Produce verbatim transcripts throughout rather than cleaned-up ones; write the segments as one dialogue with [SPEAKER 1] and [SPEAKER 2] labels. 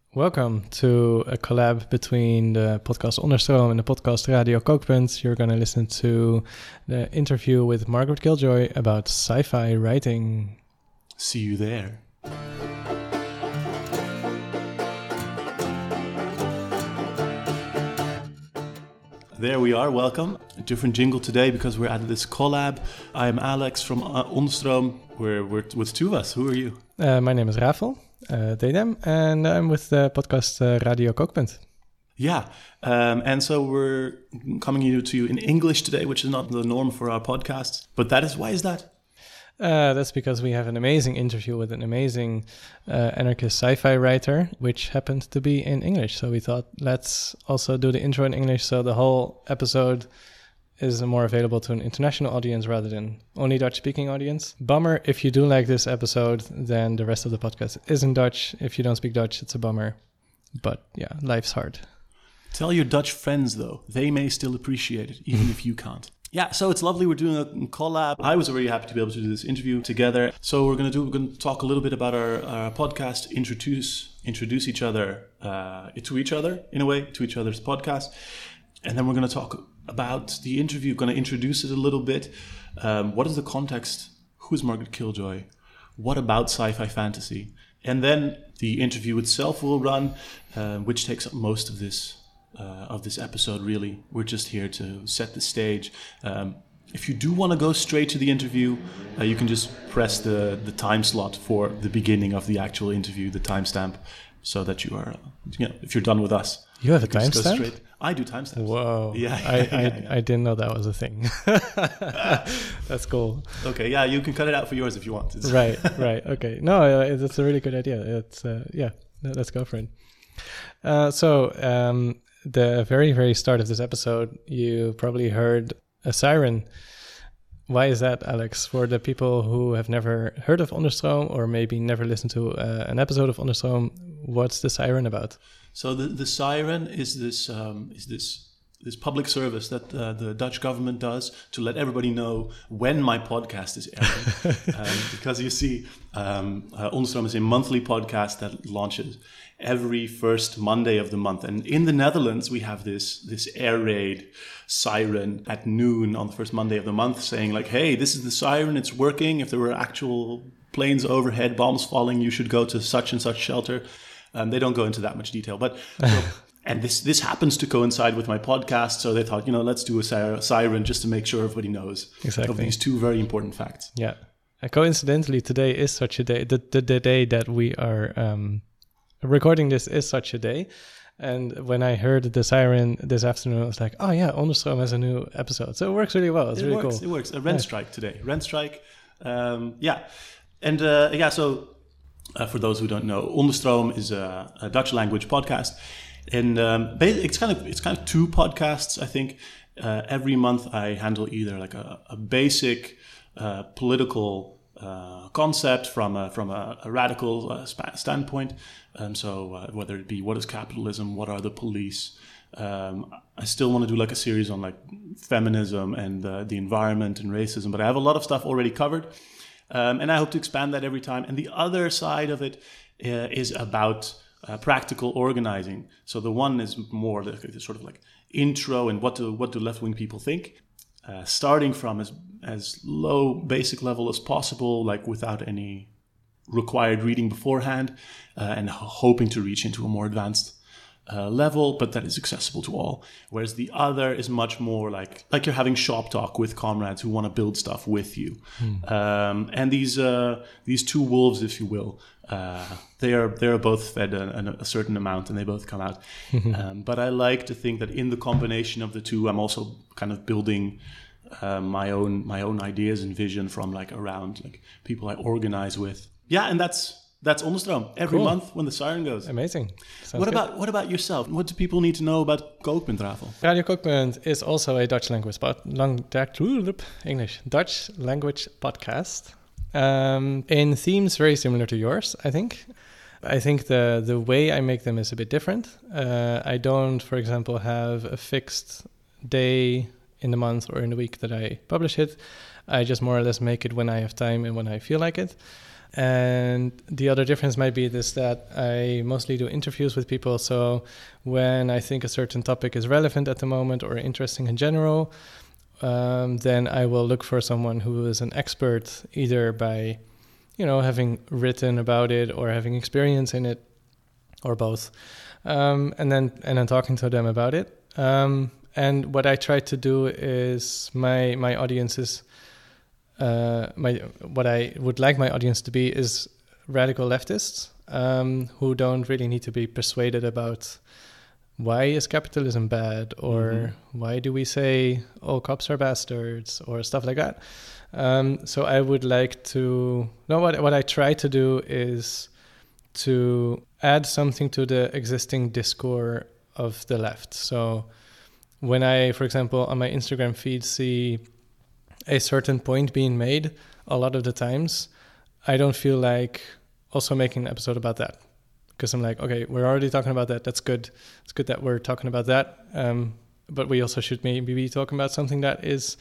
[SPEAKER 1] Welcome to a collab between the podcast Onderstroom and the podcast Radio Kookpunt. You're going to listen to the interview with Margaret Killjoy about sci-fi writing.
[SPEAKER 2] See you there. There we are, welcome. A different jingle today because we're at this collab. I am Alex from uh, Onderstroom. We're, we're with two of us. Who are you?
[SPEAKER 1] Uh, my name is Rafael. Uh, Dedem, and I'm with the podcast uh, Radio Kookpunt.
[SPEAKER 2] Yeah, um, and so we're coming to you in English today, which is not the norm for our podcast. But that is, why is that?
[SPEAKER 1] Uh, that's because we have an amazing interview with an amazing uh, anarchist sci-fi writer, which happened to be in English. So we thought, let's also do the intro in English, so the whole episode is more available to an international audience rather than only Dutch-speaking audience. Bummer, if you do like this episode, then the rest of the podcast is in Dutch. If you don't speak Dutch, it's a bummer. But yeah, life's hard.
[SPEAKER 2] Tell your Dutch friends, though. They may still appreciate it, even if you can't. Yeah, so it's lovely. We're doing a collab. I was already happy to be able to do this interview together. So we're going to do. We're going to talk a little bit about our, our podcast, introduce introduce each other uh, to each other in a way, to each other's podcast, and then we're going to talk about the interview. Going to introduce it a little bit. Um, what is the context? Who is Margaret Killjoy? What about sci-fi fantasy? And then the interview itself will run, uh, which takes up most of this. Uh, of this episode, really. We're just here to set the stage. Um, if you do want to go straight to the interview, uh, you can just press the, the time slot for the beginning of the actual interview, the timestamp, so that you are, you know, if you're done with us.
[SPEAKER 1] You have a timestamp?
[SPEAKER 2] I do timestamps.
[SPEAKER 1] Whoa.
[SPEAKER 2] Yeah.
[SPEAKER 1] I, I,
[SPEAKER 2] yeah, yeah.
[SPEAKER 1] I didn't know that was a thing. That's cool.
[SPEAKER 2] Okay, yeah, you can cut it out for yours if you want. It's
[SPEAKER 1] right, right. Okay. No, uh, that's a really good idea. It's, uh, yeah, let's go for it. Uh, so, um, the very, very start of this episode, you probably heard a siren. Why is that, Alex? For the people who have never heard of Onderstroom or maybe never listened to uh, an episode of Onderstroom, what's the siren about?
[SPEAKER 2] So the, the siren is this um, is this this public service that uh, the Dutch government does to let everybody know when my podcast is airing. um, because you see, um, uh, Onderstroom is a monthly podcast that launches every first Monday of the month. And in the Netherlands, we have this this air raid siren at noon on the first Monday of the month saying like, hey, this is the siren, it's working. If there were actual planes overhead, bombs falling, you should go to such and such shelter. Um, they don't go into that much detail. But so, and this this happens to coincide with my podcast. So they thought, you know, let's do a siren just to make sure everybody knows
[SPEAKER 1] exactly.
[SPEAKER 2] of these two very important facts.
[SPEAKER 1] Yeah. And coincidentally, today is such a day. The, the, the day that we are... Um, recording this is such a day, and when I heard the siren this afternoon, I was like, "Oh yeah, Onderstroom has a new episode." So it works really well. It's
[SPEAKER 2] it
[SPEAKER 1] really
[SPEAKER 2] works,
[SPEAKER 1] cool.
[SPEAKER 2] It works. A rent yeah. strike today. Rent strike. Um, yeah, and uh, yeah. So uh, for those who don't know, Onderstroom is a, a Dutch language podcast, and um, it's kind of it's kind of two podcasts. I think uh, every month I handle either like a, a basic uh, political uh, concept from a, from a, a radical uh, sp- standpoint. Um, so uh, whether it be what is capitalism, what are the police, um, I still want to do like a series on like feminism and uh, the environment and racism, but I have a lot of stuff already covered, um, and I hope to expand that every time. And the other side of it uh, is about uh, practical organizing. So the one is more the, the sort of like intro and what do what do left-wing people think, uh, starting from as as low basic level as possible, like without any required reading beforehand, uh, and hoping to reach into a more advanced uh, level, but that is accessible to all. Whereas the other is much more like like you're having shop talk with comrades who want to build stuff with you. Hmm. Um, and these uh, these two wolves, if you will, uh, they are they are both fed a, a certain amount, and they both come out. um, but I like to think that in the combination of the two, I'm also kind of building uh, my own my own ideas and vision from like around like people I organize with. Yeah, and that's that's Onderstroom every cool. month when the siren goes.
[SPEAKER 1] Amazing. Sounds
[SPEAKER 2] what
[SPEAKER 1] good.
[SPEAKER 2] about what about yourself? What do people need to know about Kookpunt, Rafael?
[SPEAKER 1] Radio Kookpunt is also a Dutch language pod, long, English Dutch language podcast. Um, in themes very similar to yours, I think. I think the the way I make them is a bit different. Uh, I don't, for example, have a fixed day in the month or in the week that I publish it. I just more or less make it when I have time and when I feel like it. And the other difference might be this, that I mostly do interviews with people. So when I think a certain topic is relevant at the moment or interesting in general, um, then I will look for someone who is an expert, either by, you know, having written about it or having experience in it, or both. Um, and then and then talking to them about it. Um, and what I try to do is my my audience is uh, my what I would like my audience to be is radical leftists um, who don't really need to be persuaded about why is capitalism bad, or mm-hmm. why do we say all cops are bastards, or stuff like that. Um, so I would like to no what what I try to do is to add something to the existing discourse of the left. So when I, for example, on my Instagram feed see a certain point being made, a lot of the times I don't feel like also making an episode about that, because I'm like, okay, we're already talking about that. That's good. It's good that we're talking about that. Um, but we also should maybe be talking about something that is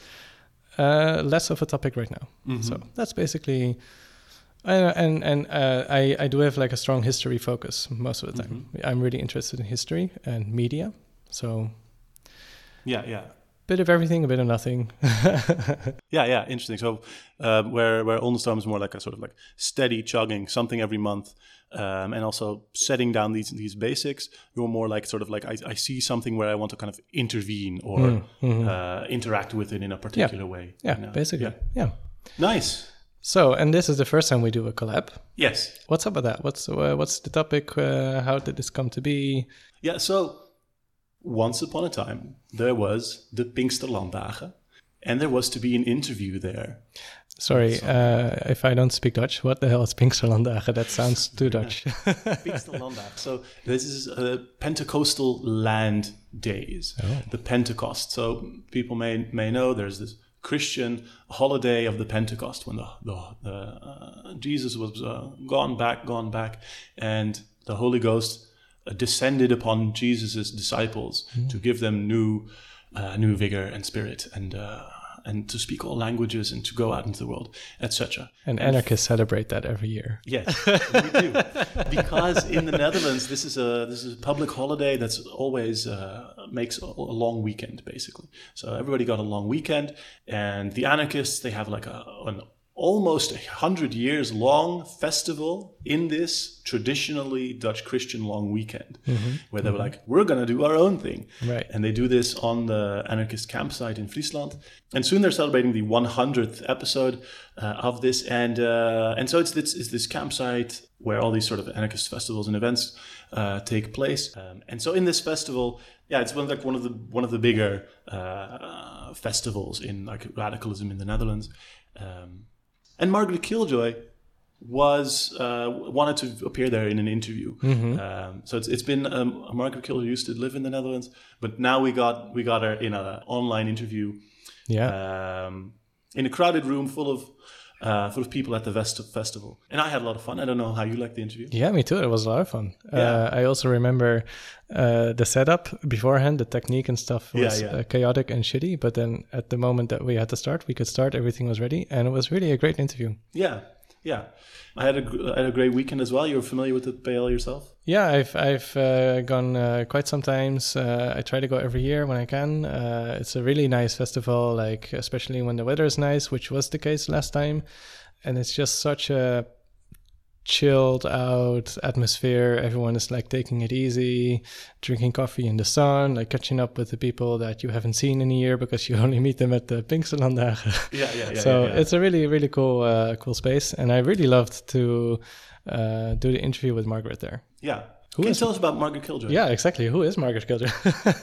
[SPEAKER 1] uh, less of a topic right now. Mm-hmm. So that's basically... Uh, and and uh, I, I do have like a strong history focus most of the time. Mm-hmm. I'm really interested in history and media. So
[SPEAKER 2] yeah, yeah.
[SPEAKER 1] Bit of everything, a bit of nothing.
[SPEAKER 2] yeah, yeah, interesting. So uh, where where Ondestroom is more like a sort of like steady chugging, something every month, um, and also setting down these these basics. You're more like sort of like I, I see something where I want to kind of intervene or mm-hmm. uh, interact with it in a particular
[SPEAKER 1] yeah.
[SPEAKER 2] way.
[SPEAKER 1] Yeah,
[SPEAKER 2] you know?
[SPEAKER 1] basically. Yeah. yeah.
[SPEAKER 2] Nice.
[SPEAKER 1] So, and this is the first time we do a collab.
[SPEAKER 2] Yes.
[SPEAKER 1] What's up with that? What's uh, what's the topic? Uh, how did this come to be?
[SPEAKER 2] Yeah, so once upon a time, there was the Pinksterlanddagen, and there was to be an interview there.
[SPEAKER 1] Sorry, uh, if I don't speak Dutch, what the hell is Pinksterlanddagen? That sounds too Dutch.
[SPEAKER 2] Pinksterlanddagen. So this is uh, Pentecostal land days, oh. the Pentecost. So people may may know there's this Christian holiday of the Pentecost, when the, the, the uh, Jesus was uh, gone back, gone back, and the Holy Ghost uh, descended upon Jesus's disciples mm. to give them new, uh, new vigor and spirit, and uh, and to speak all languages and to go out into the world, et cetera.
[SPEAKER 1] And, and anarchists f- celebrate that every year.
[SPEAKER 2] Yes, we do, because in the Netherlands, this is a this is a public holiday that's always uh, makes a, a long weekend, basically. So everybody got a long weekend, and the anarchists, they have like a an almost a hundred years long festival in this traditionally Dutch Christian long weekend, mm-hmm. where they were like, we're going to do our own thing.
[SPEAKER 1] Right.
[SPEAKER 2] And they do this on the anarchist campsite in Friesland. And soon they're celebrating the one hundredth episode uh, of this. And uh, and so it's this, it's this campsite where all these sort of anarchist festivals and events uh, take place. Um, and so in this festival, yeah, it's one like one of the one of the bigger uh, festivals in like radicalism in the Netherlands. Um, And Margaret Killjoy was uh, wanted to appear there in an interview. Mm-hmm. Um, so it's it's been um, Margaret Killjoy used to live in the Netherlands, but now we got we got her in an online interview.
[SPEAKER 1] Yeah,
[SPEAKER 2] um, in a crowded room full of uh, full of people at the Vest- festival, and I had a lot of fun. I don't know how you liked the interview.
[SPEAKER 1] Yeah, me too. It was a lot of fun.
[SPEAKER 2] Yeah.
[SPEAKER 1] Uh, I also remember uh, the setup beforehand, the technique and stuff was
[SPEAKER 2] yeah, yeah.
[SPEAKER 1] Uh, chaotic and shitty. But then at the moment that we had to start, we could start. Everything was ready, and it was really a great interview.
[SPEAKER 2] Yeah, yeah. I had a I had a great weekend as well. You're familiar with the P L yourself?
[SPEAKER 1] Yeah, I've I've uh, gone uh, quite some times. Uh, I try to go every year when I can. Uh, it's a really nice festival, like especially when the weather is nice, which was the case last time. And it's just such a chilled out atmosphere. Everyone is like taking it easy, drinking coffee in the sun, like catching up with the people that you haven't seen in a year because you only meet them at the Pinksterlanddagen.
[SPEAKER 2] Yeah, yeah, yeah.
[SPEAKER 1] So
[SPEAKER 2] yeah, yeah.
[SPEAKER 1] it's a really, really cool, uh, cool space. And I really loved to uh, do the interview with Margaret there.
[SPEAKER 2] Yeah.
[SPEAKER 1] Who
[SPEAKER 2] Can
[SPEAKER 1] is
[SPEAKER 2] you tell us about Margaret Killjoy?
[SPEAKER 1] Yeah, exactly. Who is Margaret Killjoy?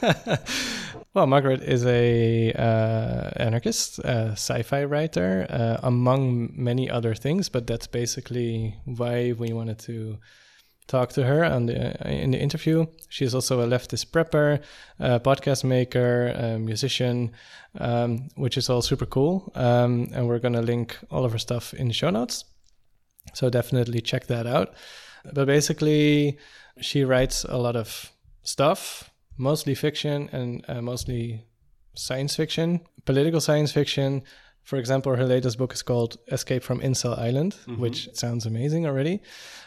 [SPEAKER 1] Well, Margaret is a uh, anarchist, uh, sci-fi writer, uh, among many other things. But that's basically why we wanted to talk to her on the, uh, in the interview. She's also a leftist prepper, uh, podcast maker, uh, musician, um, which is all super cool. Um, and we're going to link all of her stuff in the show notes. So definitely check that out. But basically, she writes a lot of stuff, mostly fiction and uh, mostly science fiction, political science fiction, For example, her latest book is called Escape from Incel Island, mm-hmm. which sounds amazing already.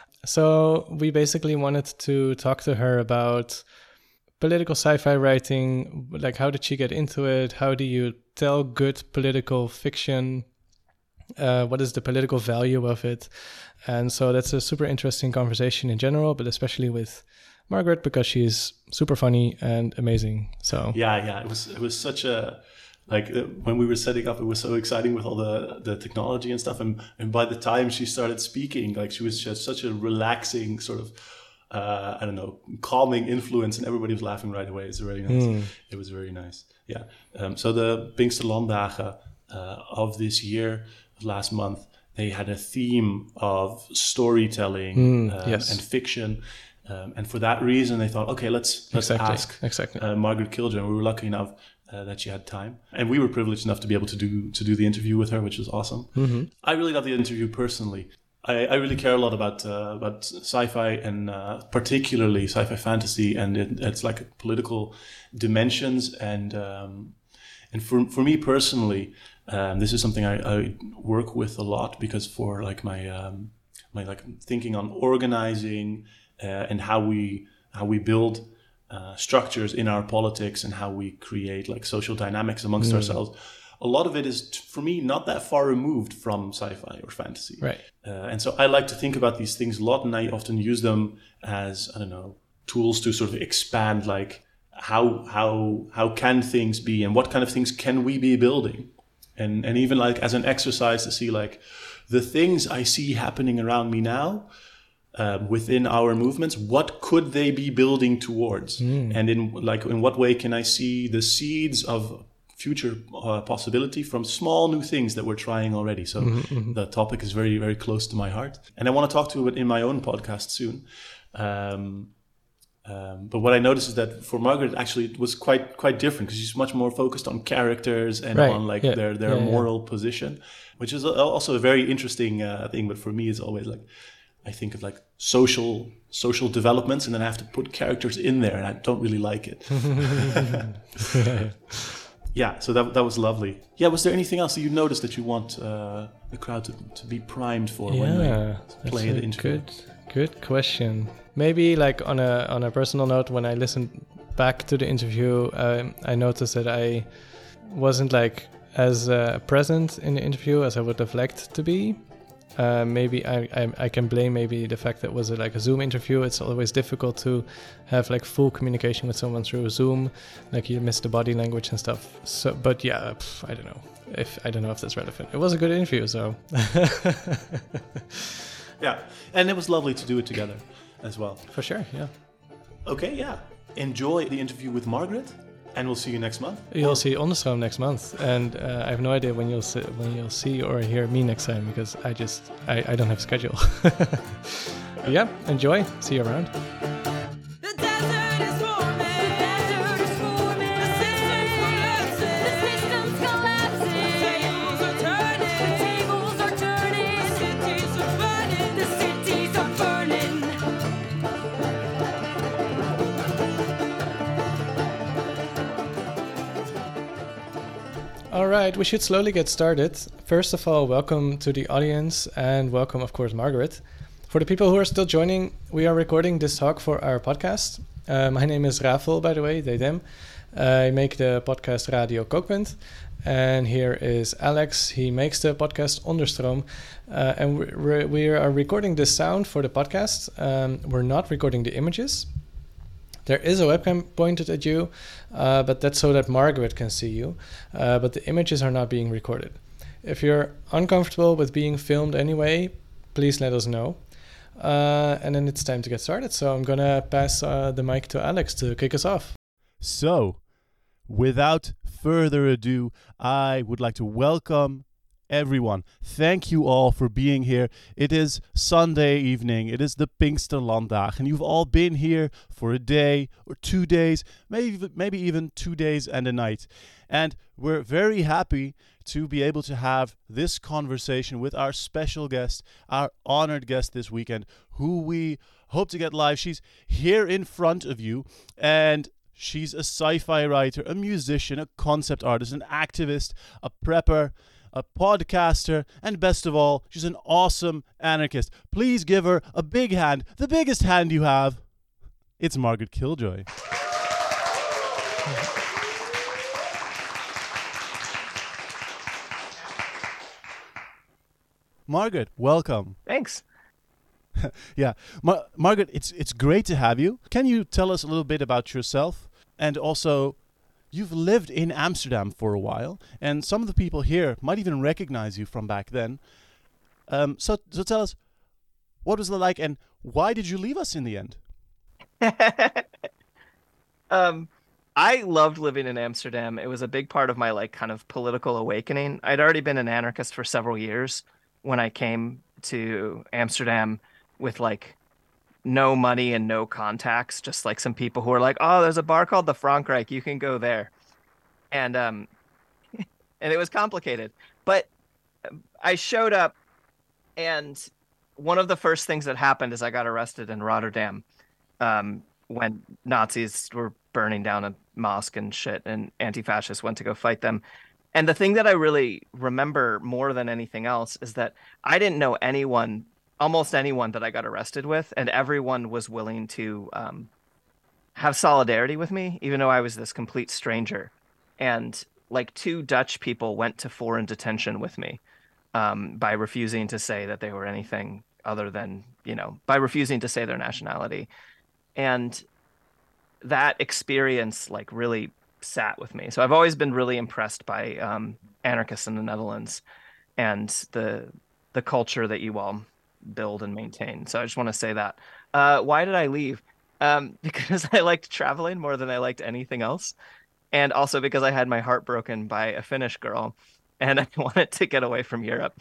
[SPEAKER 1] So we basically wanted to talk to her about political sci-fi writing, like how did she get into it? How do you tell good political fiction? Uh, what is the political value of it? And so that's a super interesting conversation in general, but especially with Margaret because she's super funny and amazing. So
[SPEAKER 2] yeah, yeah, it was it was such a like uh, when we were setting up, it was so exciting with all the the technology and stuff. And and by the time she started speaking, like she was just such a relaxing sort of. Uh, I don't know, calming influence, and everybody was laughing right away. It's very nice. Mm. It was very nice. Yeah. Um, so the Pinksterlanddagen uh, of this year, of last month, they had a theme of storytelling mm, uh, yes. and fiction. Um, and for that reason, they thought, okay, let's let's
[SPEAKER 1] exactly.
[SPEAKER 2] ask
[SPEAKER 1] exactly.
[SPEAKER 2] Uh, Margaret Kildren. We were lucky enough uh, that she had time, and we were privileged enough to be able to do to do the interview with her, which was awesome. Mm-hmm. I really loved the interview personally. I, I really care a lot about uh, about sci-fi and uh, particularly sci-fi fantasy, and it, it's like political dimensions. And um, and for for me personally, um, this is something I, I work with a lot because for like my um, my like thinking on organizing uh, and how we how we build uh, structures in our politics and how we create like social dynamics amongst mm. ourselves. A lot of it is, for me, not that far removed from sci-fi or fantasy.
[SPEAKER 1] Right.
[SPEAKER 2] Uh, and so I like to think about these things a lot, and I often use them as, I don't know, tools to sort of expand, like, how how how can things be, and what kind of things can we be building? And and even, like, as an exercise to see, like, the things I see happening around me now, um, within our movements, what could they be building towards? Mm. And in, like, in what way can I see the seeds of future uh, possibility from small new things that we're trying already. So mm-hmm, mm-hmm. the topic is very, very close to my heart. And I want to talk to it in my own podcast soon. Um, um, but what I noticed is that for Margaret, actually, it was quite quite different because she's much more focused on characters and
[SPEAKER 1] right.
[SPEAKER 2] on like
[SPEAKER 1] yeah.
[SPEAKER 2] their, their
[SPEAKER 1] yeah,
[SPEAKER 2] moral
[SPEAKER 1] yeah.
[SPEAKER 2] position, which is also a very interesting uh, thing. But for me, it's always like, I think of like social social developments, and then I have to put characters in there, and I don't really like it. Yeah, so that that was lovely. Yeah, was there anything else that you noticed that you want uh, the crowd to, to be primed for
[SPEAKER 1] yeah,
[SPEAKER 2] when we play the interview?
[SPEAKER 1] Good, good question. Maybe like on a on a personal note, when I listened back to the interview, um, I noticed that I wasn't like as uh, present in the interview as I would have liked to be. Uh, maybe I, I I can blame maybe the fact that it was a, like a Zoom interview. It's always difficult to have like full communication with someone through Zoom. Like you miss the body language and stuff. So, but yeah, pff, I don't know if I don't know if that's relevant. It was a good interview, so.
[SPEAKER 2] Yeah, and it was lovely to do it together as well.
[SPEAKER 1] For sure, yeah.
[SPEAKER 2] Okay, yeah. Enjoy the interview with Margaret. And we'll see you next month.
[SPEAKER 1] You'll see Onderstroom next month, and uh, I have no idea when you'll see, when you'll see or hear me next time because I just I, I don't have a schedule. Yeah, enjoy. See you around. All right, we should slowly get started. First of all, welcome to the audience and welcome, of course, Margaret. For the people who are still joining, we are recording this talk for our podcast. Uh, my name is Rafael, by the way, they, them. Uh, I make the podcast Radio Kookpunt. And here is Alex. He makes the podcast Onderstroom. Uh, and we're, we are recording the sound for the podcast. Um, we're not recording the images. There is a webcam pointed at you, uh, but that's so that Margaret can see you. Uh, but the images are not being recorded. If you're uncomfortable with being filmed anyway, please let us know. Uh, and then it's time to get started. So I'm going to pass uh, the mic to Alex to kick us off.
[SPEAKER 3] So, without further ado, I would like to welcome everyone. Thank you all for being here. It is Sunday evening. It is the Pinksterlanddag, and you've all been here for a day or two days, maybe maybe even two days and a night. And we're very happy to be able to have this conversation with our special guest, our honored guest this weekend, who we hope to get live. She's here in front of you, and she's a sci-fi writer, a musician, a concept artist, an activist, a prepper, a podcaster, and best of all, she's an awesome anarchist. Please give her a big hand, the biggest hand you have. It's Margaret Killjoy. Margaret, welcome.
[SPEAKER 4] Thanks.
[SPEAKER 3] Yeah, Mar- Margaret, it's it's great to have you. Can you tell us a little bit about yourself? And also, you've lived in Amsterdam for a while, and some of the people here might even recognize you from back then. Um, so, so tell us, what was it like, and why did you leave us in the end?
[SPEAKER 4] um, I loved living in Amsterdam. It was a big part of my like kind of political awakening. I'd already been an anarchist for several years when I came to Amsterdam with like no money and no contacts, just like some people who are like, oh, there's a bar called the Frankrijk, you can go there. And um and it was complicated. But I showed up, and one of the first things that happened is I got arrested in Rotterdam um when Nazis were burning down a mosque and shit, and anti-fascists went to go fight them. And the thing that I really remember more than anything else is that I didn't know anyone, almost anyone that I got arrested with, and everyone was willing to um, have solidarity with me, even though I was this complete stranger. And like two Dutch people went to foreign detention with me um, by refusing to say that they were anything other than, you know, by refusing to say their nationality. And that experience like really sat with me. So I've always been really impressed by um, anarchists in the Netherlands and the the culture that you all build and maintain. So I just want to say that. Uh, why did I leave? Um, because I liked traveling more than I liked anything else. And also because I had my heart broken by a Finnish girl and I wanted to get away from Europe.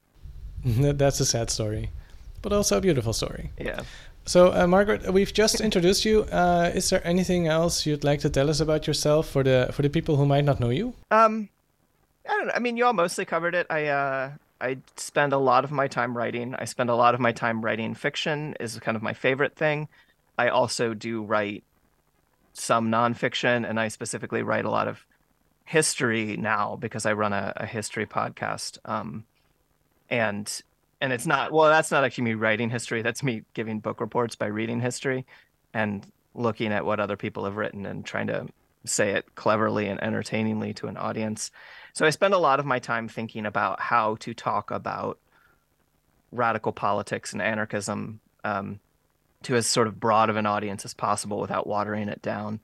[SPEAKER 1] That's a sad story, but also a beautiful story.
[SPEAKER 4] Yeah.
[SPEAKER 1] So, uh, Margaret, we've just introduced you. Uh, is there anything else you'd like to tell us about yourself for the for the people who might not know you?
[SPEAKER 4] Um, I don't know. I mean, you all mostly covered it. I uh, I spend a lot of my time writing. I spend a lot of my time writing fiction. Is kind of my favorite thing. I also do write some nonfiction, and I specifically write a lot of history now because I run a, a history podcast. Um, and And it's not, well, that's not actually me writing history. That's me giving book reports by reading history and looking at what other people have written and trying to say it cleverly and entertainingly to an audience. So I spend a lot of my time thinking about how to talk about radical politics and anarchism um, to as sort of broad of an audience as possible without watering it down.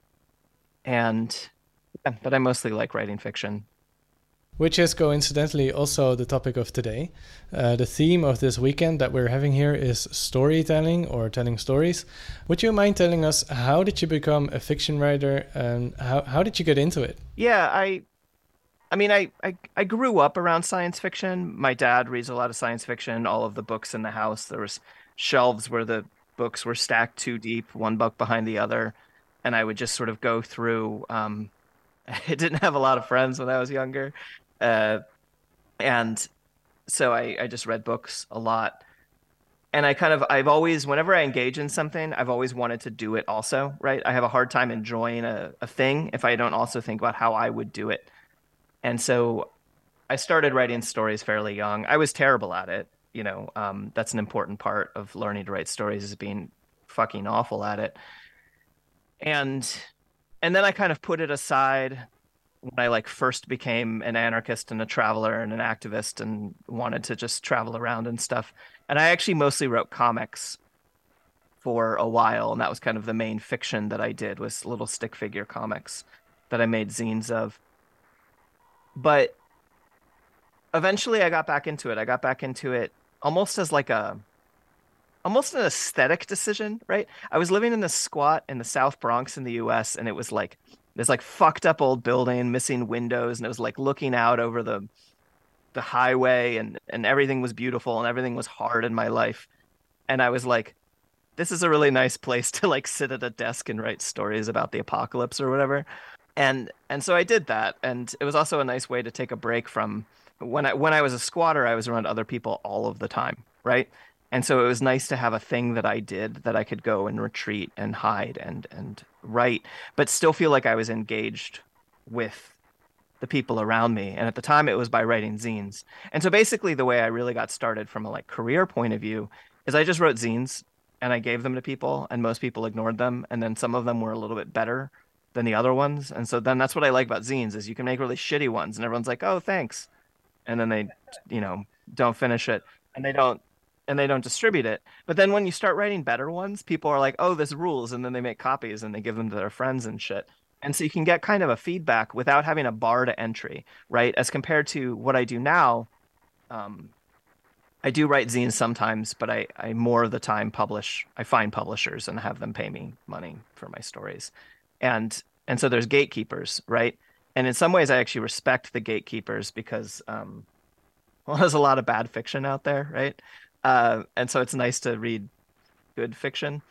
[SPEAKER 4] And, yeah, but I mostly like writing fiction.
[SPEAKER 1] Which is coincidentally also the topic of today. Uh, the theme of this weekend that we're having here is storytelling or telling stories. Would you mind telling us, how did you become a fiction writer and how, how did you get into it?
[SPEAKER 4] Yeah, I I mean, I, I, I grew up around science fiction. My dad reads a lot of science fiction, all of the books in the house. There was shelves where the books were stacked two deep, one book behind the other. And I would just sort of go through. Um, I didn't have a lot of friends when I was younger. Uh, and so I, I just read books a lot. And I kind of, I've always, whenever I engage in something, I've always wanted to do it also, right? I have a hard time enjoying a, a thing if I don't also think about how I would do it. And so I started writing stories fairly young. I was terrible at it. You know, um, that's an important part of learning to write stories, is being fucking awful at it. And, and then I kind of put it aside when I like first became an anarchist and a traveler and an activist and wanted to just travel around and stuff. And I actually mostly wrote comics for a while. And that was kind of the main fiction that I did, was little stick figure comics that I made zines of. But eventually I got back into it. I got back into it almost as like a, almost an aesthetic decision, right? I was living in this squat in the South Bronx in the U S, and it was like, this like fucked up old building, missing windows, and it was like looking out over the the highway, and, and everything was beautiful and everything was hard in my life. And I was like, this is a really nice place to like sit at a desk and write stories about the apocalypse or whatever. And and so I did that. And it was also a nice way to take a break from when I when I was a squatter, I was around other people all of the time, right? And so it was nice to have a thing that I did that I could go and retreat and hide and and write, but still feel like I was engaged with the people around me. And at the time it was by writing zines. And so basically the way I really got started from a like career point of view is I just wrote zines and I gave them to people, and most people ignored them. And then some of them were a little bit better than the other ones. And so then that's what I like about zines is you can make really shitty ones and everyone's like, oh, thanks. And then they, you know, don't finish it and they don't, and they don't distribute it. But then when you start writing better ones, people are like, oh, this rules. And then they make copies and they give them to their friends and shit. And so you can get kind of a feedback without having a bar to entry, right? As compared to what I do now, um, I do write zines sometimes, but I, I more of the time publish, I find publishers and have them pay me money for my stories. And and so there's gatekeepers, right? And in some ways I actually respect the gatekeepers because, um, well, there's a lot of bad fiction out there, right? Uh, and so it's nice to read good fiction.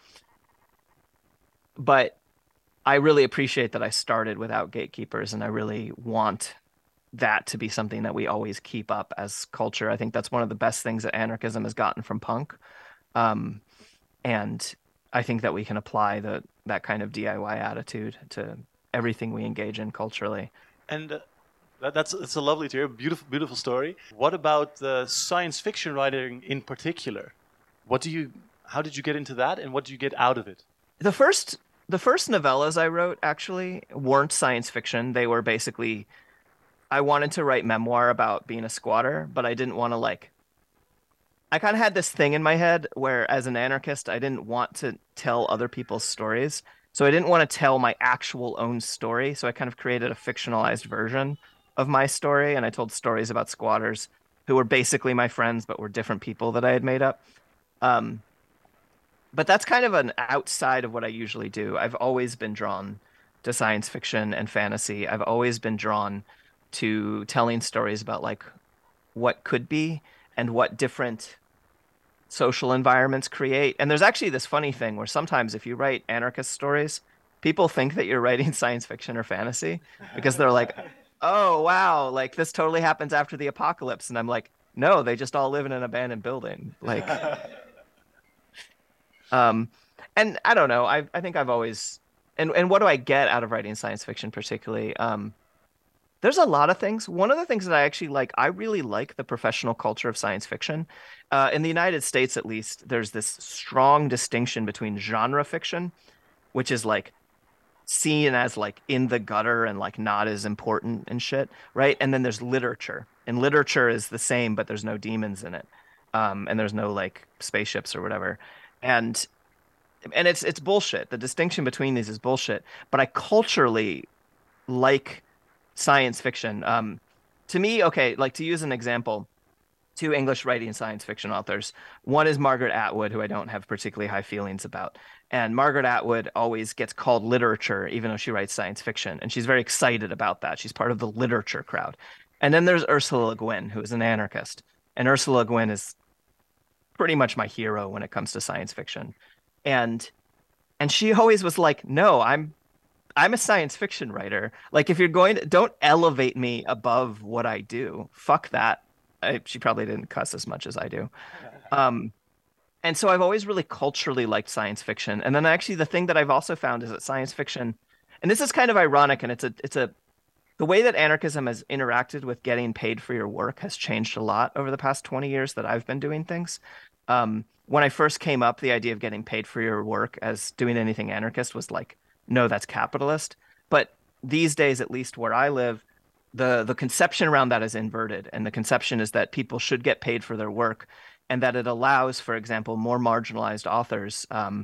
[SPEAKER 4] But I really appreciate that I started without gatekeepers, and I really want that to be something that we always keep up as culture. I think that's one of the best things that anarchism has gotten from punk. Um, and I think that we can apply the that kind of D I Y attitude to everything we engage in culturally.
[SPEAKER 3] And uh, that, that's it's a lovely to hear, beautiful, beautiful story. What about the science fiction writing in particular? What do you, how did you get into that, and what do you get out of it?
[SPEAKER 4] The first, the first novellas I wrote actually weren't science fiction. They were basically, I wanted to write memoir about being a squatter, but I didn't want to like, I kind of had this thing in my head where as an anarchist, I didn't want to tell other people's stories. So I didn't want to tell my actual own story. So I kind of created a fictionalized version of my story. And I told stories about squatters who were basically my friends, but were different people that I had made up. Um, but that's kind of an outside of what I usually do. I've always been drawn to science fiction and fantasy. I've always been drawn to telling stories about like what could be and what different social environments create. And there's actually this funny thing where sometimes if you write anarchist stories, people think that you're writing science fiction or fantasy because they're like, oh, wow, like this totally happens after the apocalypse. And I'm like, no, they just all live in an abandoned building. Like, um, and I don't know. I I think I've always, and, and what do I get out of writing science fiction particularly? Um, There's a lot of things. One of the things that I actually like, I really like the professional culture of science fiction. Uh, in the United States, at least, there's this strong distinction between genre fiction, which is like seen as like in the gutter and like not as important and shit, right? And then there's literature. And literature is the same, but there's no demons in it. Um, and there's no like spaceships or whatever. And and it's it's bullshit. The distinction between these is bullshit. But I culturally like science fiction. Um, to me, okay, like to use an example, two English writing science fiction authors. One is Margaret Atwood, who I don't have particularly high feelings about. And Margaret Atwood always gets called literature, even though she writes science fiction. And she's very excited about that. She's part of the literature crowd. And then there's Ursula Le Guin, who is an anarchist. And Ursula Le Guin is pretty much my hero when it comes to science fiction. And and she always was like, no, I'm I'm a science fiction writer. Like, if you're going to, don't elevate me above what I do. Fuck that. I, she probably didn't cuss as much as I do. Um, and so I've always really culturally liked science fiction. And then actually the thing that I've also found is that science fiction, and this is kind of ironic, and it's a, it's a, the way that anarchism has interacted with getting paid for your work has changed a lot over the past twenty years that I've been doing things. Um, when I first came up, the idea of getting paid for your work as doing anything anarchist was like, no, that's capitalist. But these days, at least where I live, the the conception around that is inverted. And the conception is that people should get paid for their work, and that it allows, for example, more marginalized authors um,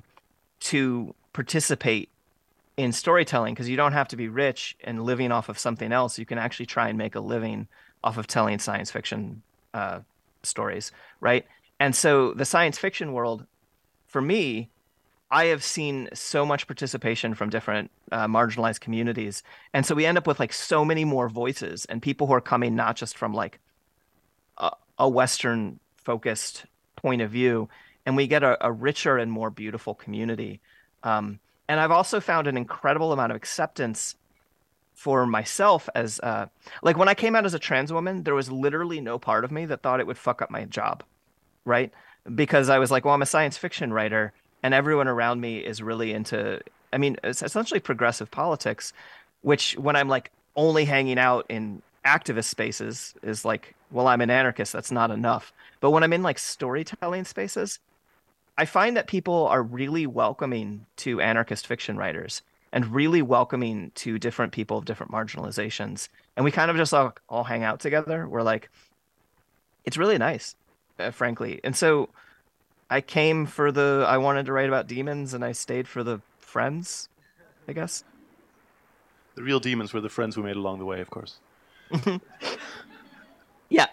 [SPEAKER 4] to participate in storytelling, because you don't have to be rich and living off of something else. You can actually try and make a living off of telling science fiction uh, stories, right? And so the science fiction world, for me, I have seen so much participation from different uh, marginalized communities. And so we end up with like so many more voices and people who are coming not just from like a, a Western focused point of view, and we get a, a richer and more beautiful community. Um, and I've also found an incredible amount of acceptance for myself as uh, like when I came out as a trans woman, there was literally no part of me that thought it would fuck up my job, right? Because I was like, well, I'm a science fiction writer. And everyone around me is really into, I mean, it's essentially progressive politics, which when I'm like only hanging out in activist spaces is like, well, I'm an anarchist. That's not enough. But when I'm in like storytelling spaces, I find that people are really welcoming to anarchist fiction writers and really welcoming to different people of different marginalizations. And we kind of just all, all hang out together. We're like, it's really nice, uh, frankly. And so I came for the, I wanted to write about demons and I stayed for the friends, I guess.
[SPEAKER 3] The real demons were the friends we made along the way, of course.
[SPEAKER 4] Yeah.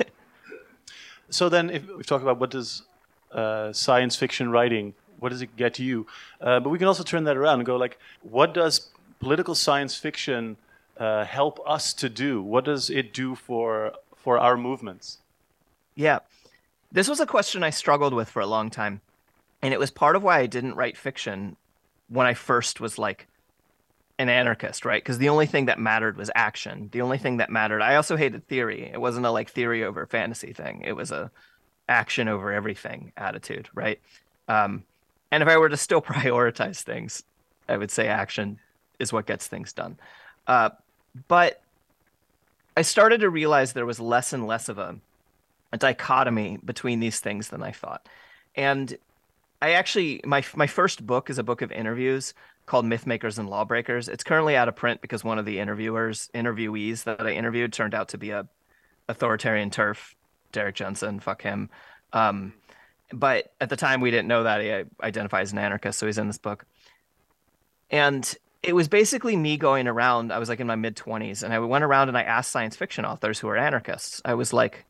[SPEAKER 3] So then if we talk about what does uh, science fiction writing, what does it get to you? Uh, but we can also turn that around and go like, what does political science fiction uh, help us to do? What does it do for for our movements?
[SPEAKER 4] Yeah. This was a question I struggled with for a long time. And it was part of why I didn't write fiction when I first was like an anarchist, right? Because the only thing that mattered was action. The only thing that mattered. I also hated theory. It wasn't a like theory over fantasy thing. It was a action over everything attitude, right? Um, and if I were to still prioritize things, I would say action is what gets things done. Uh, but I started to realize there was less and less of a, a dichotomy between these things than I thought. And I actually, my my first book is a book of interviews called Mythmakers and Lawbreakers. It's currently out of print because one of the interviewers, interviewees that I interviewed turned out to be a authoritarian TERF, Derek Jensen, fuck him. Um, but at the time we didn't know that. He identifies as an anarchist, so he's in this book. And it was basically me going around, I was like in my mid twenties, and I went around and I asked science fiction authors who are anarchists. I was like,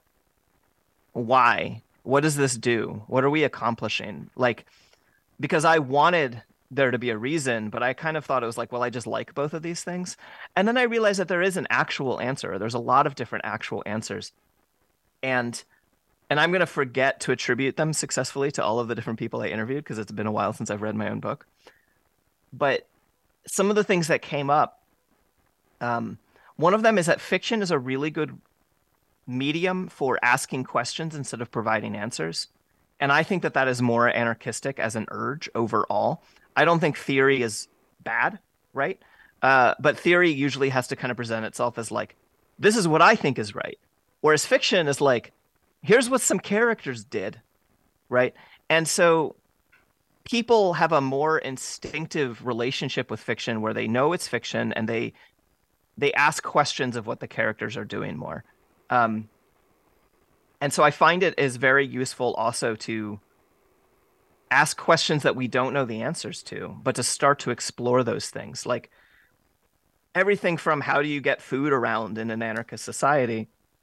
[SPEAKER 4] why? What does this do? What are we accomplishing? Like, because I wanted there to be a reason, but I kind of thought it was like, well, I just like both of these things. And then I realized that there is an actual answer. There's a lot of different actual answers. And and I'm going to forget to attribute them successfully to all of the different people I interviewed because it's been a while since I've read my own book. But some of the things that came up, um, one of them is that fiction is a really good medium for asking questions instead of providing answers. And I think that that is more anarchistic as an urge overall. I don't think theory is bad, right? Uh, but theory usually has to kind of present itself as like, this is what I think is right. Whereas fiction is like, here's what some characters did, right? And so people have a more instinctive relationship with fiction where they know it's fiction and they they ask questions of what the characters are doing more. Um, and so I find it is very useful also to ask questions that we don't know the answers to, but to start to explore those things. Like everything from how do you get food around in an anarchist society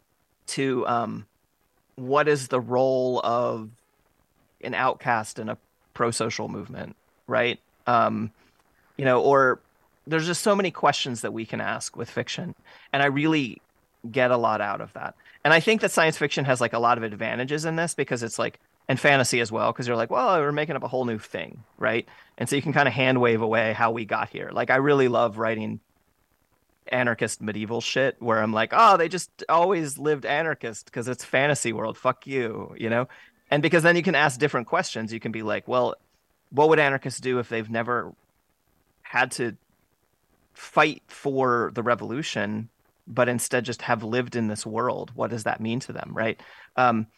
[SPEAKER 4] to um, what is the role of an outcast in a pro-social movement, right? Um, you know, or there's just so many questions that we can ask with fiction. And I really get a lot out of that. And I think that science fiction has like a lot of advantages in this because it's like, and fantasy as well, because you're like, well, we're making up a whole new thing, right? And so you can kind of hand wave away how we got here. Like I really love writing anarchist medieval shit where I'm like, oh, they just always lived anarchist because it's fantasy world. Fuck you, you know? And because then you can ask different questions. You can be like, well, what would anarchists do if they've never had to fight for the revolution, but instead just have lived in this world? What does that mean to them, right? Um,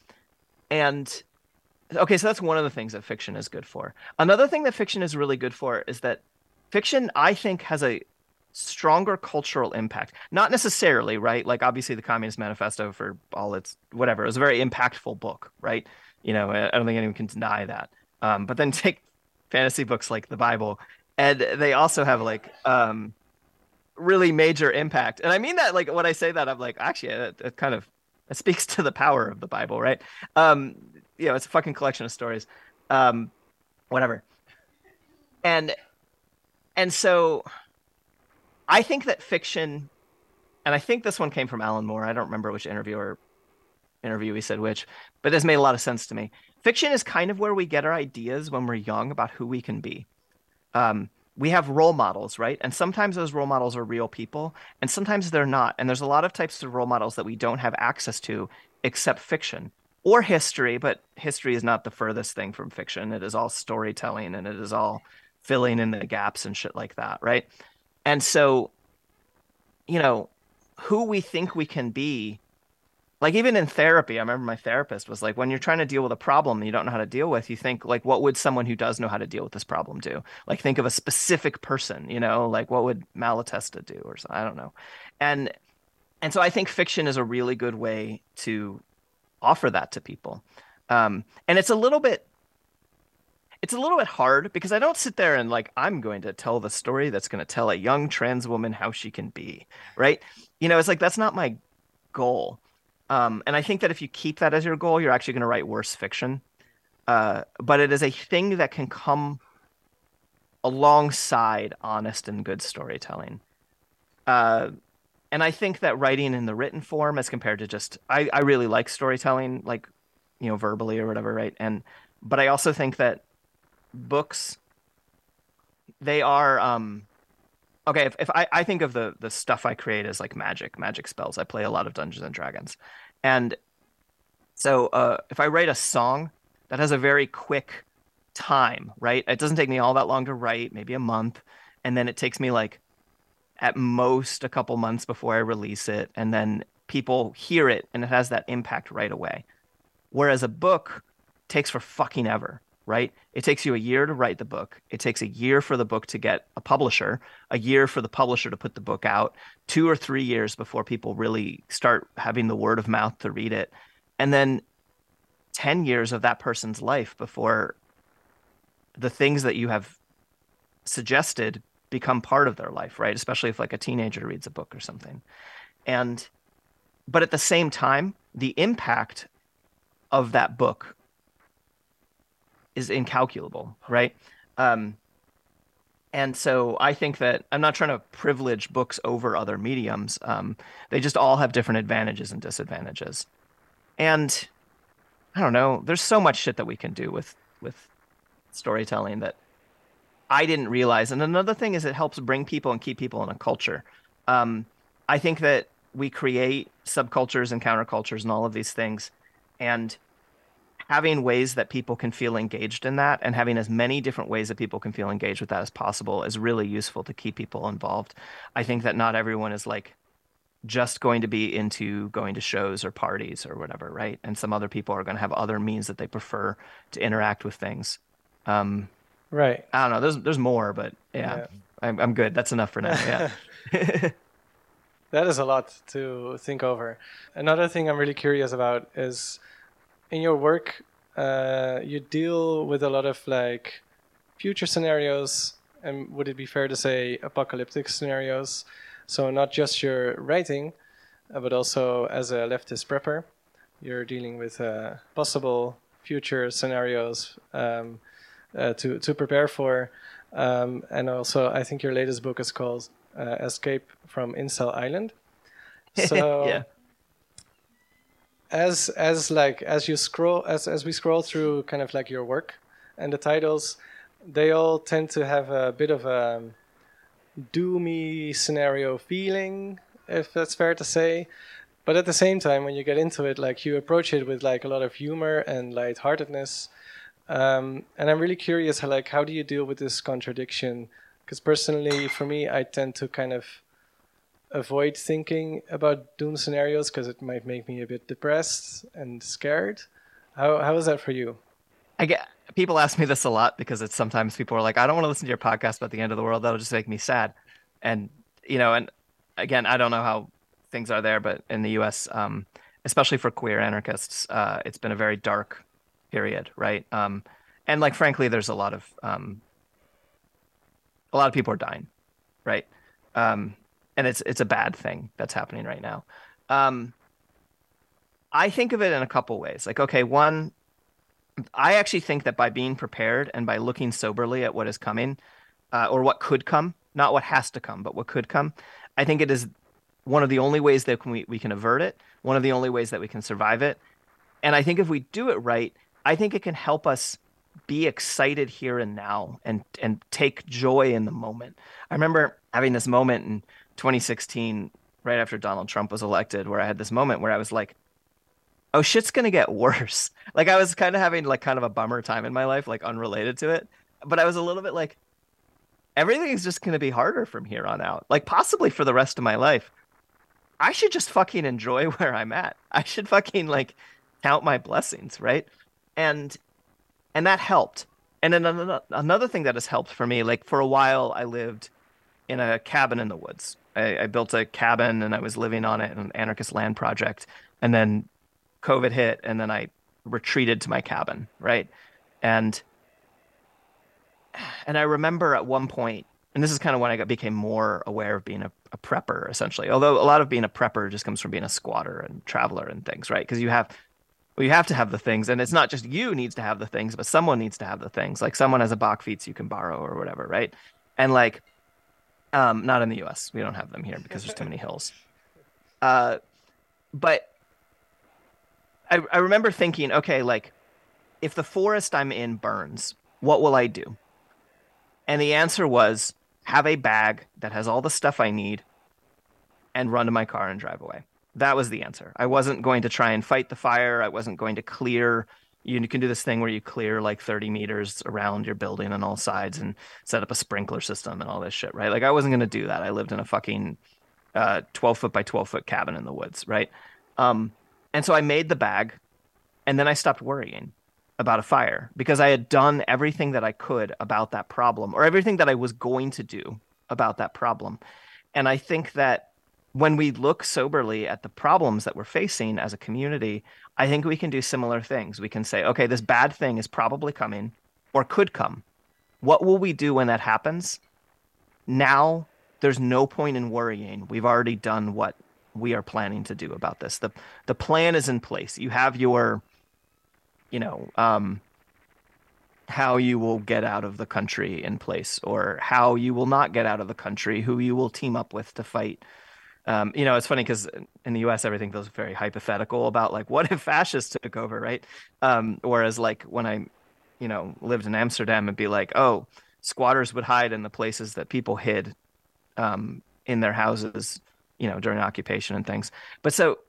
[SPEAKER 4] and okay, so that's one of the things that fiction is good for. Another thing that fiction is really good for is that fiction, I think, has a stronger cultural impact. Not necessarily, right? Like obviously the Communist Manifesto, for all its whatever, it was a very impactful book, right? You know, I don't think anyone can deny that. Um, but then take fantasy books like the Bible, and they also have like um, really major impact. And I mean that, like when I say that, I'm like, actually, it, it kind of it speaks to the power of the Bible, right? Um, you know, it's a fucking collection of stories, um, whatever. And and so I think that fiction, and I think this one came from Alan Moore. I don't remember which interviewer interviewee said which, but this made a lot of sense to me. Fiction is kind of where we get our ideas when we're young about who we can be. Um, we have role models, right? And sometimes those role models are real people, and sometimes they're not. And there's a lot of types of role models that we don't have access to except fiction or history, but history is not the furthest thing from fiction. It is all storytelling, and it is all filling in the gaps and shit like that, right? And so you know, who we think we can be. Like even in therapy, I remember my therapist was like, when you're trying to deal with a problem you don't know how to deal with, you think like, what would someone who does know how to deal with this problem do? Like think of a specific person, you know, like what would Malatesta do or something? I don't know. And and so I think fiction is a really good way to offer that to people. Um, and it's a little bit it's a little bit hard because I don't sit there and like, I'm going to tell the story that's going to tell a young trans woman how she can be, right? You know, it's like, that's not my goal. Um, and I think that if you keep that as your goal, you're actually going to write worse fiction. Uh, but it is a thing that can come alongside honest and good storytelling. Uh, and I think that writing in the written form as compared to just, I, I really like storytelling, like, you know, verbally or whatever, right? And, but I also think that books, they are, um, okay, if, if I, I think of the the stuff I create as like magic, magic spells. I play a lot of Dungeons and Dragons. And so uh, if I write a song that has a very quick time, right? It doesn't take me all that long to write, maybe a month. And then it takes me like at most a couple months before I release it. And then people hear it and it has that impact right away. Whereas a book takes for fucking ever. Right? It takes you a year to write the book. It takes a year for the book to get a publisher, a year for the publisher to put the book out, two or three years before people really start having the word of mouth to read it. And then ten years of that person's life before the things that you have suggested become part of their life, right? Especially if like a teenager reads a book or something. And, but at the same time, the impact of that book is incalculable, right? Um, and so I think that I'm not trying to privilege books over other mediums. Um, they just all have different advantages and disadvantages. And I don't know, there's so much shit that we can do with, with storytelling that I didn't realize. And another thing is it helps bring people and keep people in a culture. Um, I think that we create subcultures and countercultures and all of these things. And having ways that people can feel engaged in that and having as many different ways that people can feel engaged with that as possible is really useful to keep people involved. I think that not everyone is like just going to be into going to shows or parties or whatever, right? And some other people are going to have other means that they prefer to interact with things. Um,
[SPEAKER 1] right.
[SPEAKER 4] I don't know. There's there's more, but yeah, yeah. I'm I'm good. That's enough for now. Yeah.
[SPEAKER 1] That is a lot to think over. Another thing I'm really curious about is, in your work, uh, you deal with a lot of like future scenarios, and would it be fair to say apocalyptic scenarios? So not just your writing, uh, but also as a leftist prepper, you're dealing with uh, possible future scenarios um, uh, to to prepare for. Um, and also, I think your latest book is called uh, Escape from Incel Island. So.
[SPEAKER 4] Yeah.
[SPEAKER 1] As as like as you scroll as as we scroll through kind of like your work and the titles, they all tend to have a bit of a doomy scenario feeling, if that's fair to say. But at the same time, when you get into it, like you approach it with like a lot of humor and lightheartedness. Um, and I'm really curious, how, like how do you deal with this contradiction? Because personally, for me, I tend to kind of avoid thinking about doom scenarios because it might make me a bit depressed and scared. How how is that for you?
[SPEAKER 4] I get people ask me this a lot because it's sometimes people are like, I don't want to listen to your podcast about the end of the world. That'll just make me sad. And you know, and again, I don't know how things are there, but in the U S, um, especially for queer anarchists, uh, it's been a very dark period, right? Um, and like frankly, there's a lot of um, a lot of people are dying, right? Um, And it's it's a bad thing that's happening right now. Um, I think of it in a couple ways. Like, okay, one, I actually think that by being prepared and by looking soberly at what is coming, uh, or what could come, not what has to come, but what could come, I think it is one of the only ways that we, we can avert it, one of the only ways that we can survive it. And I think if we do it right, I think it can help us be excited here and now and and take joy in the moment. I remember having this moment in twenty sixteen, right after Donald Trump was elected, where I had this moment where I was like, oh, shit's going to get worse. Like I was kind of having like kind of a bummer time in my life, like unrelated to it. But I was a little bit like, everything is just going to be harder from here on out, like possibly for the rest of my life. I should just fucking enjoy where I'm at. I should fucking like count my blessings, right? And and that helped. And then another another thing that has helped for me, like for a while, I lived in a cabin in the woods. I, I built a cabin and I was living on it in an anarchist land project. And then COVID hit, and then I retreated to my cabin, right? And and I remember at one point, and this is kind of when I got became more aware of being a, a prepper, essentially. Although a lot of being a prepper just comes from being a squatter and traveler and things, right? Because you have well, you have to have the things, and it's not just you needs to have the things, but someone needs to have the things. Like someone has a Bachfeets you can borrow or whatever, right? And like, um, not in the U S. We don't have them here because there's too many hills. Uh, but I I remember thinking, okay, like if the forest I'm in burns, what will I do? And the answer was have a bag that has all the stuff I need and run to my car and drive away. That was the answer. I wasn't going to try and fight the fire. I wasn't going to clear. You can do this thing where you clear like thirty meters around your building on all sides and set up a sprinkler system and all this shit, right? Like I wasn't going to do that. I lived in a fucking uh, twelve foot by twelve foot cabin in the woods, right? Um, and so I made the bag, and then I stopped worrying about a fire because I had done everything that I could about that problem, or everything that I was going to do about that problem. And I think that when we look soberly at the problems that we're facing as a community, I think we can do similar things. We can say, okay, this bad thing is probably coming or could come. What will we do when that happens? Now there's no point in worrying. We've already done what we are planning to do about this. The the plan is in place. You have your, you know, um, how you will get out of the country in place, or how you will not get out of the country, who you will team up with to fight. Um, you know, it's funny because in the U S, everything feels very hypothetical about like, what if fascists took over, right? Um, whereas like when I, you know, lived in Amsterdam, it'd be like, oh, squatters would hide in the places that people hid um, in their houses, you know, during occupation and things. But so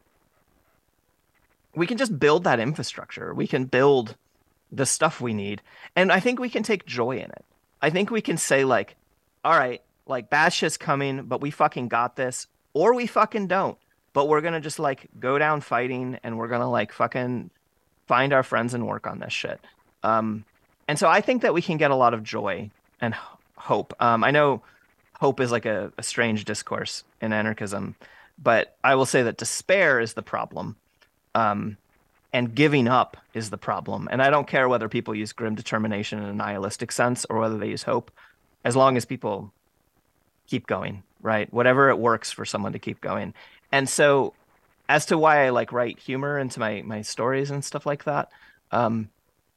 [SPEAKER 4] we can just build that infrastructure. We can build the stuff we need. And I think we can take joy in it. I think we can say like, all right, like bad shit's coming, but we fucking got this. Or we fucking don't, but we're going to just like go down fighting, and we're going to like fucking find our friends and work on this shit. Um, and so I think that we can get a lot of joy and h- hope. Um, I know hope is like a, a strange discourse in anarchism, but I will say that despair is the problem. Um, and giving up is the problem. And I don't care whether people use grim determination in a nihilistic sense or whether they use hope, as long as people keep going. Right? Whatever it works for someone to keep going. And so as to why I like write humor into my, my stories and stuff like that, um,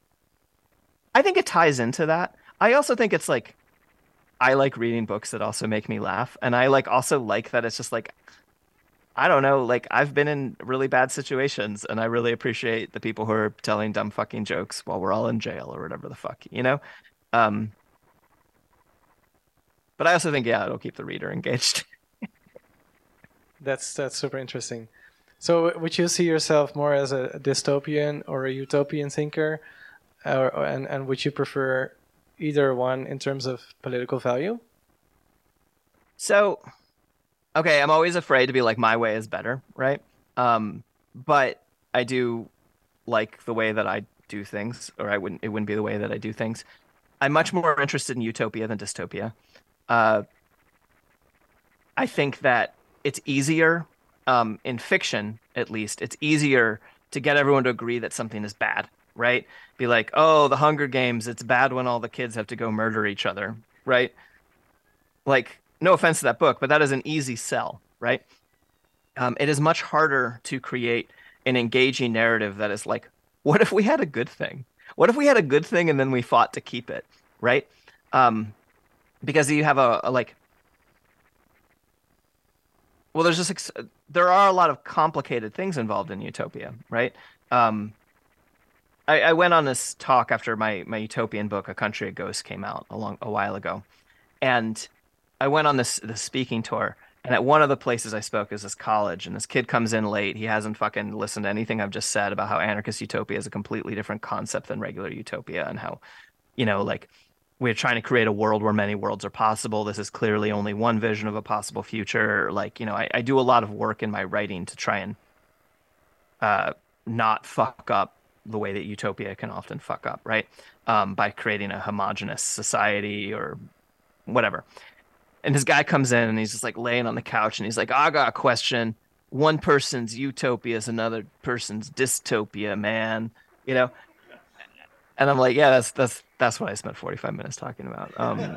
[SPEAKER 4] I think it ties into that. I also think it's like, I like reading books that also make me laugh. And I like also like that it's just like, I don't know, like I've been in really bad situations, and I really appreciate the people who are telling dumb fucking jokes while we're all in jail or whatever the fuck, you know? Um, But I also think, yeah, it'll keep the reader engaged.
[SPEAKER 1] That's that's super interesting. So would you see yourself more as a dystopian or a utopian thinker? Or, and, and would you prefer either one in terms of political value?
[SPEAKER 4] So, okay, I'm always afraid to be like, my way is better, right? Um, but I do like the way that I do things, or I wouldn't, it wouldn't be the way that I do things. I'm much more interested in utopia than dystopia. Uh, I think that it's easier, um, in fiction, at least, it's easier to get everyone to agree that something is bad, right? Be like, oh, the Hunger Games, it's bad when all the kids have to go murder each other, right? Like, no offense to that book, but that is an easy sell, right? Um, it is much harder to create an engaging narrative that is like, what if we had a good thing? What if we had a good thing and then we fought to keep it, right? Um, because you have a, a like, well, there's just, there are a lot of complicated things involved in utopia, right? Um, I, I went on this talk after my, my utopian book, A Country of Ghosts, came out a long, a while ago. And I went on this, this speaking tour. And at one of the places I spoke is this college, and this kid comes in late. He hasn't fucking listened to anything I've just said about how anarchist utopia is a completely different concept than regular utopia, and how, you know, like we're trying to create a world where many worlds are possible. This is clearly only one vision of a possible future. Like, you know, I, I do a lot of work in my writing to try and uh, not fuck up the way that utopia can often fuck up, right? Um, by creating a homogenous society or whatever. And this guy comes in and he's just like laying on the couch and he's like, I got a question. One person's utopia is another person's dystopia, man. You know? And I'm like, yeah, that's that's that's what I spent forty-five minutes talking about. Um,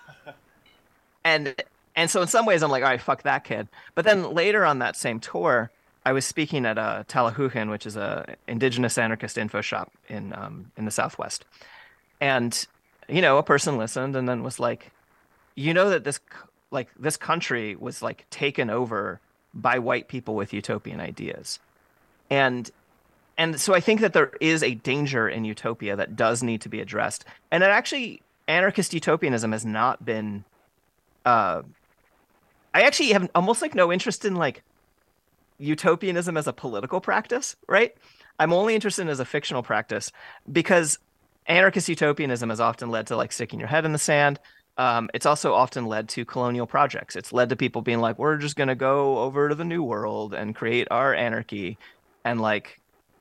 [SPEAKER 4] and and so in some ways I'm like, all right, fuck that kid. But then later on that same tour, I was speaking at uh, Talahujan, which is a indigenous anarchist info shop in um, in the Southwest. And, you know, a person listened and then was like, you know that this like this country was like taken over by white people with utopian ideas. And and so I think that there is a danger in utopia that does need to be addressed. And that actually anarchist utopianism has not been uh I actually have almost like no interest in like utopianism as a political practice, right? I'm only interested in it as a fictional practice because anarchist utopianism has often led to like sticking your head in the sand. Um, it's also often led to colonial projects. It's led to people being like, we're just going to go over to the New World and create our anarchy. And like,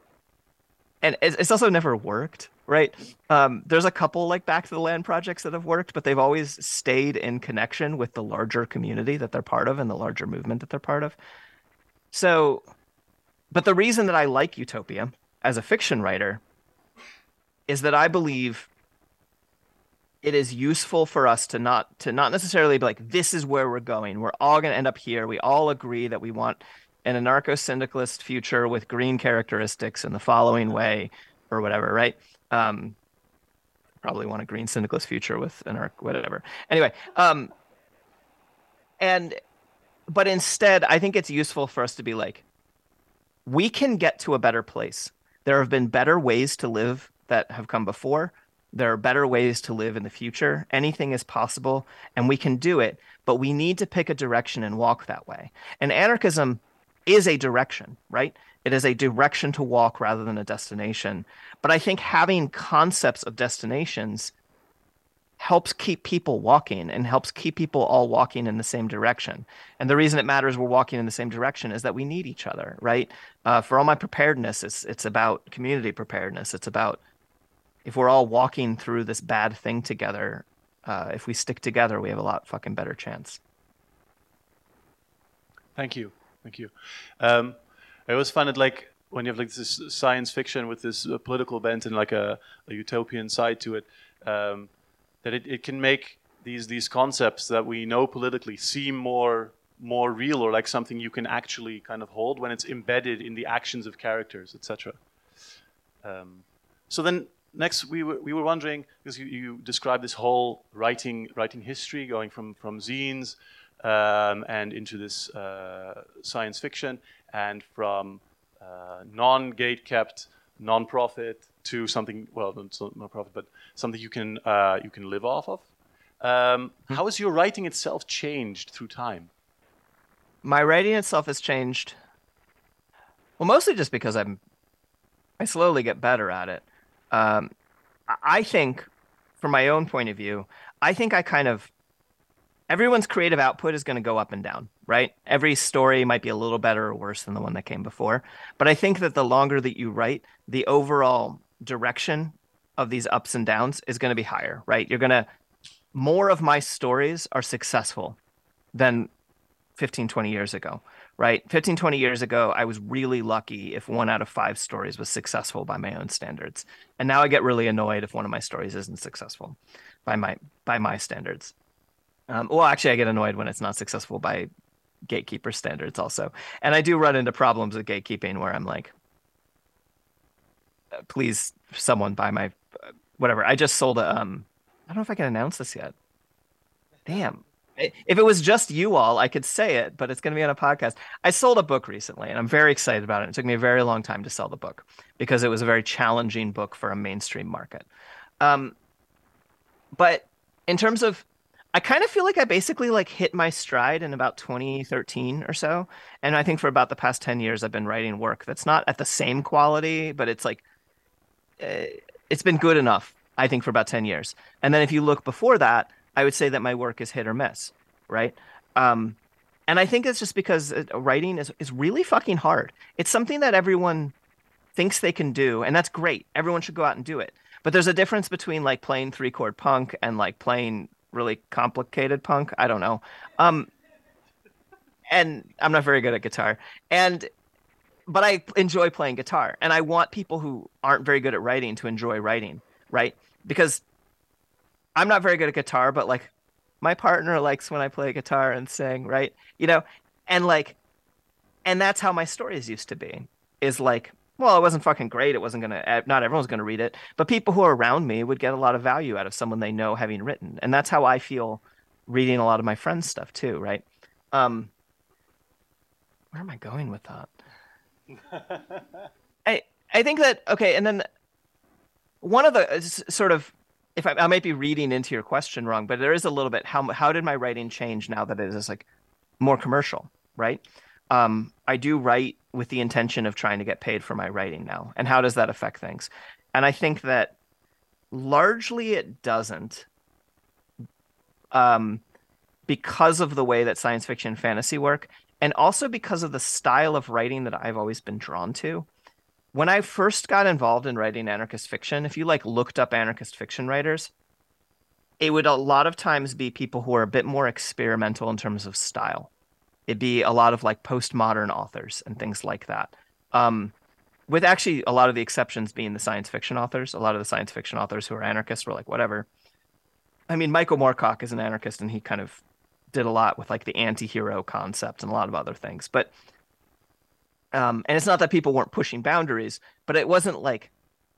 [SPEAKER 4] and it's, it's also never worked, right? Um, there's a couple like Back to the Land projects that have worked, but they've always stayed in connection with the larger community that they're part of and the larger movement that they're part of. So, but the reason that I like utopia as a fiction writer is that I believe it is useful for us to not to not necessarily be like, this is where we're going. We're all going to end up here. We all agree that we want an anarcho-syndicalist future with green characteristics in the following way or whatever, right? Um, probably want a green syndicalist future with anarch whatever. Anyway, um, and but instead, I think it's useful for us to be like, we can get to a better place. There have been better ways to live that have come before. There are better ways to live in the future. Anything is possible, and we can do it, but we need to pick a direction and walk that way. And anarchism is a direction, right? It is a direction to walk rather than a destination. But I think having concepts of destinations helps keep people walking and helps keep people all walking in the same direction. And the reason it matters we're walking in the same direction is that we need each other, right? Uh, for all my preparedness, it's it's about community preparedness. It's about if we're all walking through this bad thing together, uh, if we stick together, we have a lot fucking better chance.
[SPEAKER 3] Thank you. Thank you. Um, I always find it like when you have like this science fiction with this uh, political bent and like a, a utopian side to it, um, that it, it can make these these concepts that we know politically seem more more real or like something you can actually kind of hold when it's embedded in the actions of characters, et cetera. Um, so then next we were we were wondering, because you, you described this whole writing writing history going from from zines um, and into this uh, science fiction and from uh, non-gate kept non-profit to something, well, not non-profit, but something you can uh, you can live off of. Um, hmm. How has your writing itself changed through time?
[SPEAKER 4] My writing itself has changed, well, mostly just because I'm I slowly get better at it. Um, I think, from my own point of view, I think I kind of everyone's creative output is going to go up and down, right? Every story might be a little better or worse than the one that came before. But I think that the longer that you write, the overall direction of these ups and downs is going to be higher, right? You're going to, more of my stories are successful than fifteen, twenty years ago, right? fifteen, twenty years ago, I was really lucky if one out of five stories was successful by my own standards. And now I get really annoyed if one of my stories isn't successful by my, by my standards. Um, well, actually, I get annoyed when it's not successful by gatekeeper standards also. And I do run into problems with gatekeeping where I'm like, please, someone buy my, uh, whatever. I just sold a, um, I don't know if I can announce this yet. Damn. If it was just you all, I could say it, but it's going to be on a podcast. I sold a book recently, and I'm very excited about it. It took me a very long time to sell the book because it was a very challenging book for a mainstream market. Um, but in terms of, I kind of feel like I basically like hit my stride in about twenty thirteen or so. And I think for about the past ten years, I've been writing work that's not at the same quality, but it's like, uh, it's been good enough I think for about ten years. And then if you look before that, I would say that my work is hit or miss, right? Um, and I think it's just because writing is, is really fucking hard. It's something that everyone thinks they can do, and that's great. Everyone should go out and do it. But there's a difference between like playing three chord punk and like playing really complicated punk. I don't know. Um, and I'm not very good at guitar. And but I enjoy playing guitar, and I want people who aren't very good at writing to enjoy writing, right? Because I'm not very good at guitar, but like my partner likes when I play guitar and sing, right? You know, and like, and that's how my stories used to be, is like, well, it wasn't fucking great. It wasn't going to, not everyone's going to read it, but people who are around me would get a lot of value out of someone they know having written. And that's how I feel reading a lot of my friends' stuff too, right? Um, where am I going with that? I I think that, okay, and then one of the sort of, if I, I might be reading into your question wrong, but there is a little bit, how how did my writing change now that it is like more commercial, right? Um, I do write with the intention of trying to get paid for my writing now, and how does that affect things? And I think that largely it doesn't, um, because of the way that science fiction and fantasy work. And also because of the style of writing that I've always been drawn to. When I first got involved in writing anarchist fiction, if you like looked up anarchist fiction writers, it would a lot of times be people who are a bit more experimental in terms of style. It'd be a lot of like postmodern authors and things like that. Um, with actually a lot of the exceptions being the science fiction authors. A lot of the science fiction authors who are anarchists were like, whatever. I mean, Michael Moorcock is an anarchist, and he kind of did a lot with like the anti-hero concept and a lot of other things. But um and it's not that people weren't pushing boundaries, but it wasn't like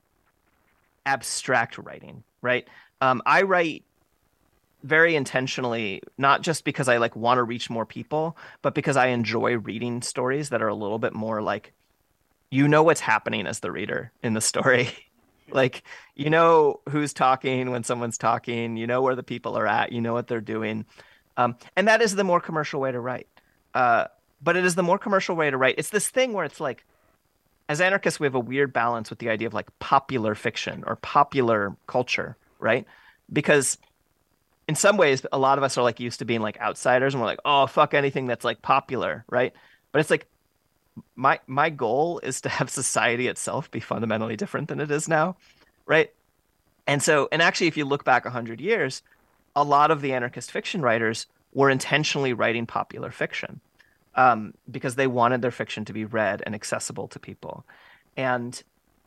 [SPEAKER 4] abstract writing, right? um I write very intentionally, not just because I like want to reach more people, but because I enjoy reading stories that are a little bit more like, you know what's happening as the reader in the story. Like, you know who's talking when someone's talking, you know where the people are at, you know what they're doing. Um, and that is the more commercial way to write. Uh, but it is the more commercial way to write. It's this thing where it's like, as anarchists, we have a weird balance with the idea of like popular fiction or popular culture, right? Because in some ways, a lot of us are like used to being like outsiders, and we're like, oh, fuck anything that's like popular, right? But it's like, my my goal is to have society itself be fundamentally different than it is now, right? And so, and actually, if you look back one hundred years, a lot of the anarchist fiction writers were intentionally writing popular fiction um, because they wanted their fiction to be read and accessible to people. And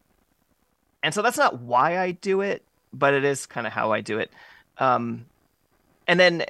[SPEAKER 4] and so that's not why I do it, but it is kind of how I do it. Um, and then,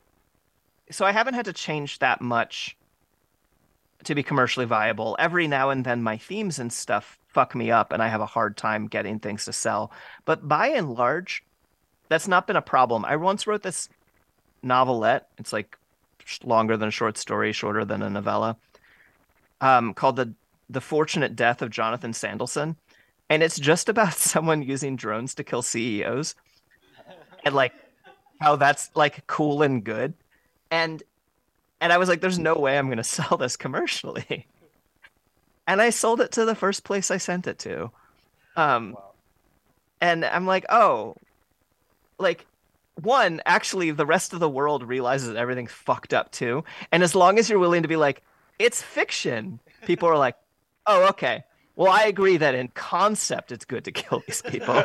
[SPEAKER 4] so I haven't had to change that much to be commercially viable. Every now and then my themes and stuff fuck me up, and I have a hard time getting things to sell. But by and large, that's not been a problem. I once wrote this novelette. It's like longer than a short story, shorter than a novella, um, called the the Fortunate Death of Jonathan Sandelson, and it's just about someone using drones to kill C E Os, and like how that's like cool and good, and and I was like, "There's no way I'm going to sell this commercially," and I sold it to the first place I sent it to, um, wow. And I'm like, oh. Like, one, actually, the rest of the world realizes that everything's fucked up too. And as long as you're willing to be like, it's fiction, people are like, oh, okay. Well, I agree that in concept, it's good to kill these people.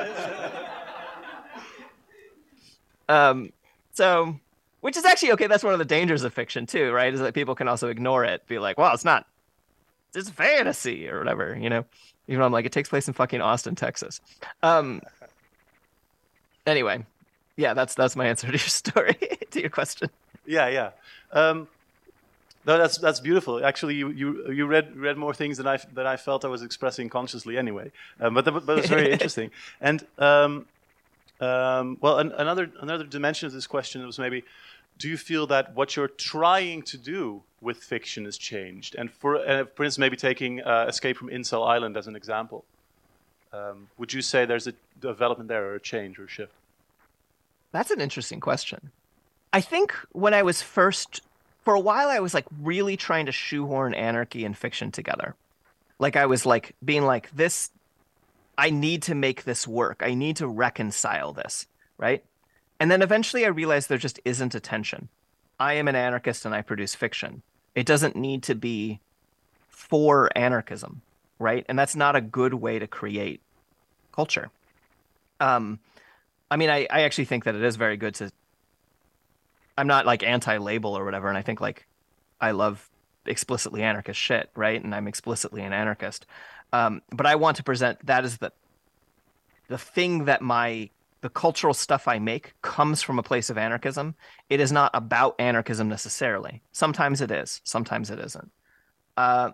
[SPEAKER 4] um, so, which is actually, okay, that's one of the dangers of fiction too, right? Is that people can also ignore it, be like, well, it's not, it's fantasy or whatever, you know? Even though I'm like, it takes place in fucking Austin, Texas. Um, anyway. Yeah, that's that's my answer to your story, to your question.
[SPEAKER 3] Yeah, yeah. Um, no, that's that's beautiful. Actually, you, you you read read more things than I than I felt I was expressing consciously anyway. Um, but the, but it's very interesting. And um, um, well, an, another another dimension of this question was maybe, do you feel that what you're trying to do with fiction has changed? And for uh, for instance, maybe taking uh, Escape from Incel Island as an example, um, would you say there's a development there, or a change, or a shift?
[SPEAKER 4] That's an interesting question. I think when I was first, for a while, I was like really trying to shoehorn anarchy and fiction together. Like I was like being like, this I need to make this work. I need to reconcile this, right? And then eventually I realized there just isn't a tension. I am an anarchist and I produce fiction. It doesn't need to be for anarchism, right? And that's not a good way to create culture. Um, I mean, I, I actually think that it is very good to, I'm not like anti-label or whatever. And I think like I love explicitly anarchist shit, right? And I'm explicitly an anarchist. Um, but I want to present that as the, the thing that my, the cultural stuff I make comes from a place of anarchism. It is not about anarchism necessarily. Sometimes it is, sometimes it isn't. Uh,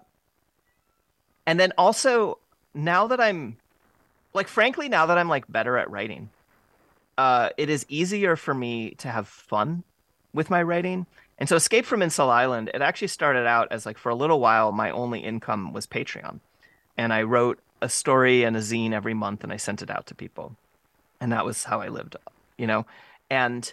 [SPEAKER 4] and then also now that I'm like, frankly, now that I'm like better at writing, uh, it is easier for me to have fun with my writing. And so Escape from Insel Island, it actually started out as like, for a little while, my only income was Patreon. And I wrote a story and a zine every month and I sent it out to people. And that was how I lived, you know? And,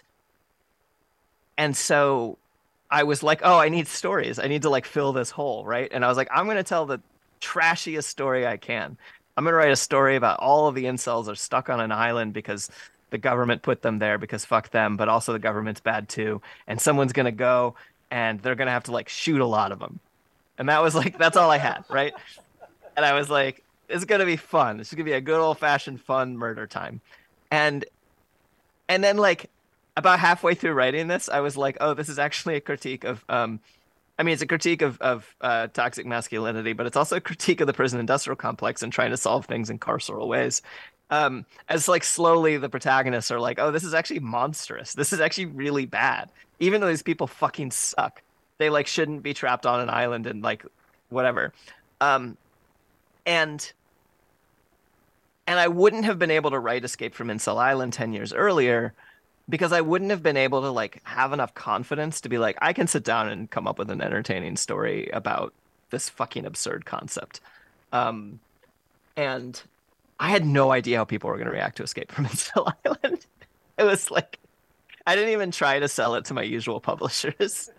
[SPEAKER 4] and so I was like, oh, I need stories. I need to like fill this hole, right? And I was like, I'm going to tell the trashiest story I can. I'm going to write a story about all of the incels are stuck on an island because the government put them there because fuck them, but also the government's bad too. And someone's going to go and they're going to have to like shoot a lot of them. And that was like, that's all I had, right? And I was like, it's going to be fun. This is going to be a good old fashioned fun murder time. And, and then like about halfway through writing this, I was like, oh, this is actually a critique of, um, I mean, it's a critique of, of uh, toxic masculinity, but it's also a critique of the prison industrial complex and trying to solve things in carceral ways. Um, as like slowly the protagonists are like, oh, this is actually monstrous. This is actually really bad. Even though these people fucking suck, they like shouldn't be trapped on an island and like whatever. Um, and and I wouldn't have been able to write Escape from Insel Island ten years earlier because I wouldn't have been able to like have enough confidence to be like, I can sit down and come up with an entertaining story about this fucking absurd concept. Um, and I had no idea how people were going to react to Escape from Insel Island. It was like, I didn't even try to sell it to my usual publishers.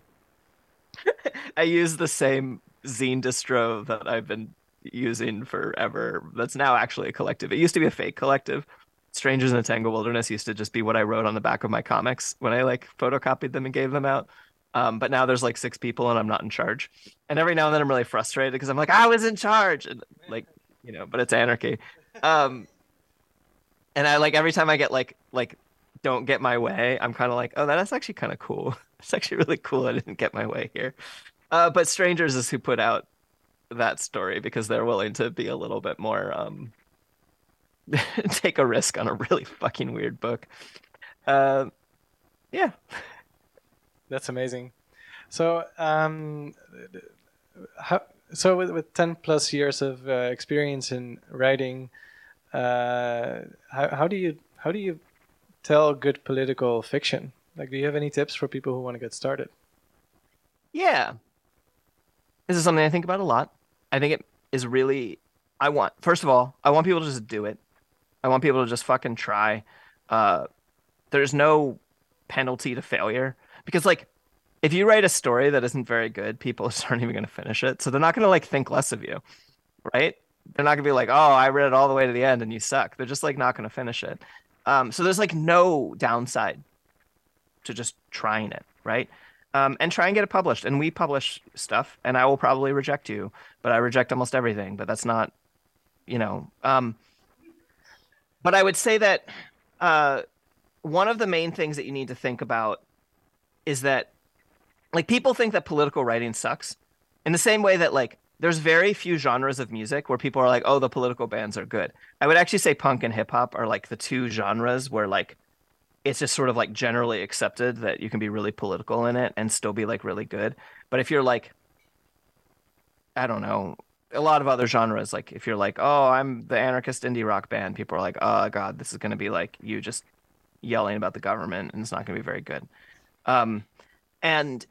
[SPEAKER 4] I used the same zine distro that I've been using forever. That's now actually a collective. It used to be a fake collective. Strangers in the Tangled Wilderness used to just be what I wrote on the back of my comics when I like photocopied them and gave them out. Um, but now there's like six people and I'm not in charge. And every now and then I'm really frustrated because I'm like, I was in charge. And like, you know, but it's anarchy. Um, and I like every time I get like, like, don't get my way, I'm kind of like, oh, that's actually kind of cool. It's actually really cool. I didn't get my way here. Uh, but Strangers is who put out that story because they're willing to be a little bit more, um, take a risk on a really fucking weird book. Uh, yeah.
[SPEAKER 1] That's amazing. So, um, how, so with, with ten plus years of uh, experience in writing, uh, how, how do you, how do you tell good political fiction? Like, do you have any tips for people who want to get started?
[SPEAKER 4] Yeah. This is something I think about a lot. I think it is really, I want, first of all, I want people to just do it. I want people to just fucking try. Uh, there's no penalty to failure because like, if you write a story that isn't very good, people just aren't even going to finish it. So they're not going to like think less of you, right? They're not going to be like, oh, I read it all the way to the end and you suck. They're just like not going to finish it. Um, so there's like no downside to just trying it, right? Um, and try and get it published. And we publish stuff, and I will probably reject you, but I reject almost everything. But that's not, you know. Um, but I would say that uh, one of the main things that you need to think about is that, like, people think that political writing sucks. In the same way that, like, there's very few genres of music where people are like, oh, the political bands are good. I would actually say punk and hip hop are like the two genres where like it's just sort of like generally accepted that you can be really political in it and still be like really good. But if you're like, I don't know, a lot of other genres, like if you're like, oh, I'm the anarchist indie rock band, people are like, oh God, this is going to be like you just yelling about the government and it's not going to be very good. Um, and,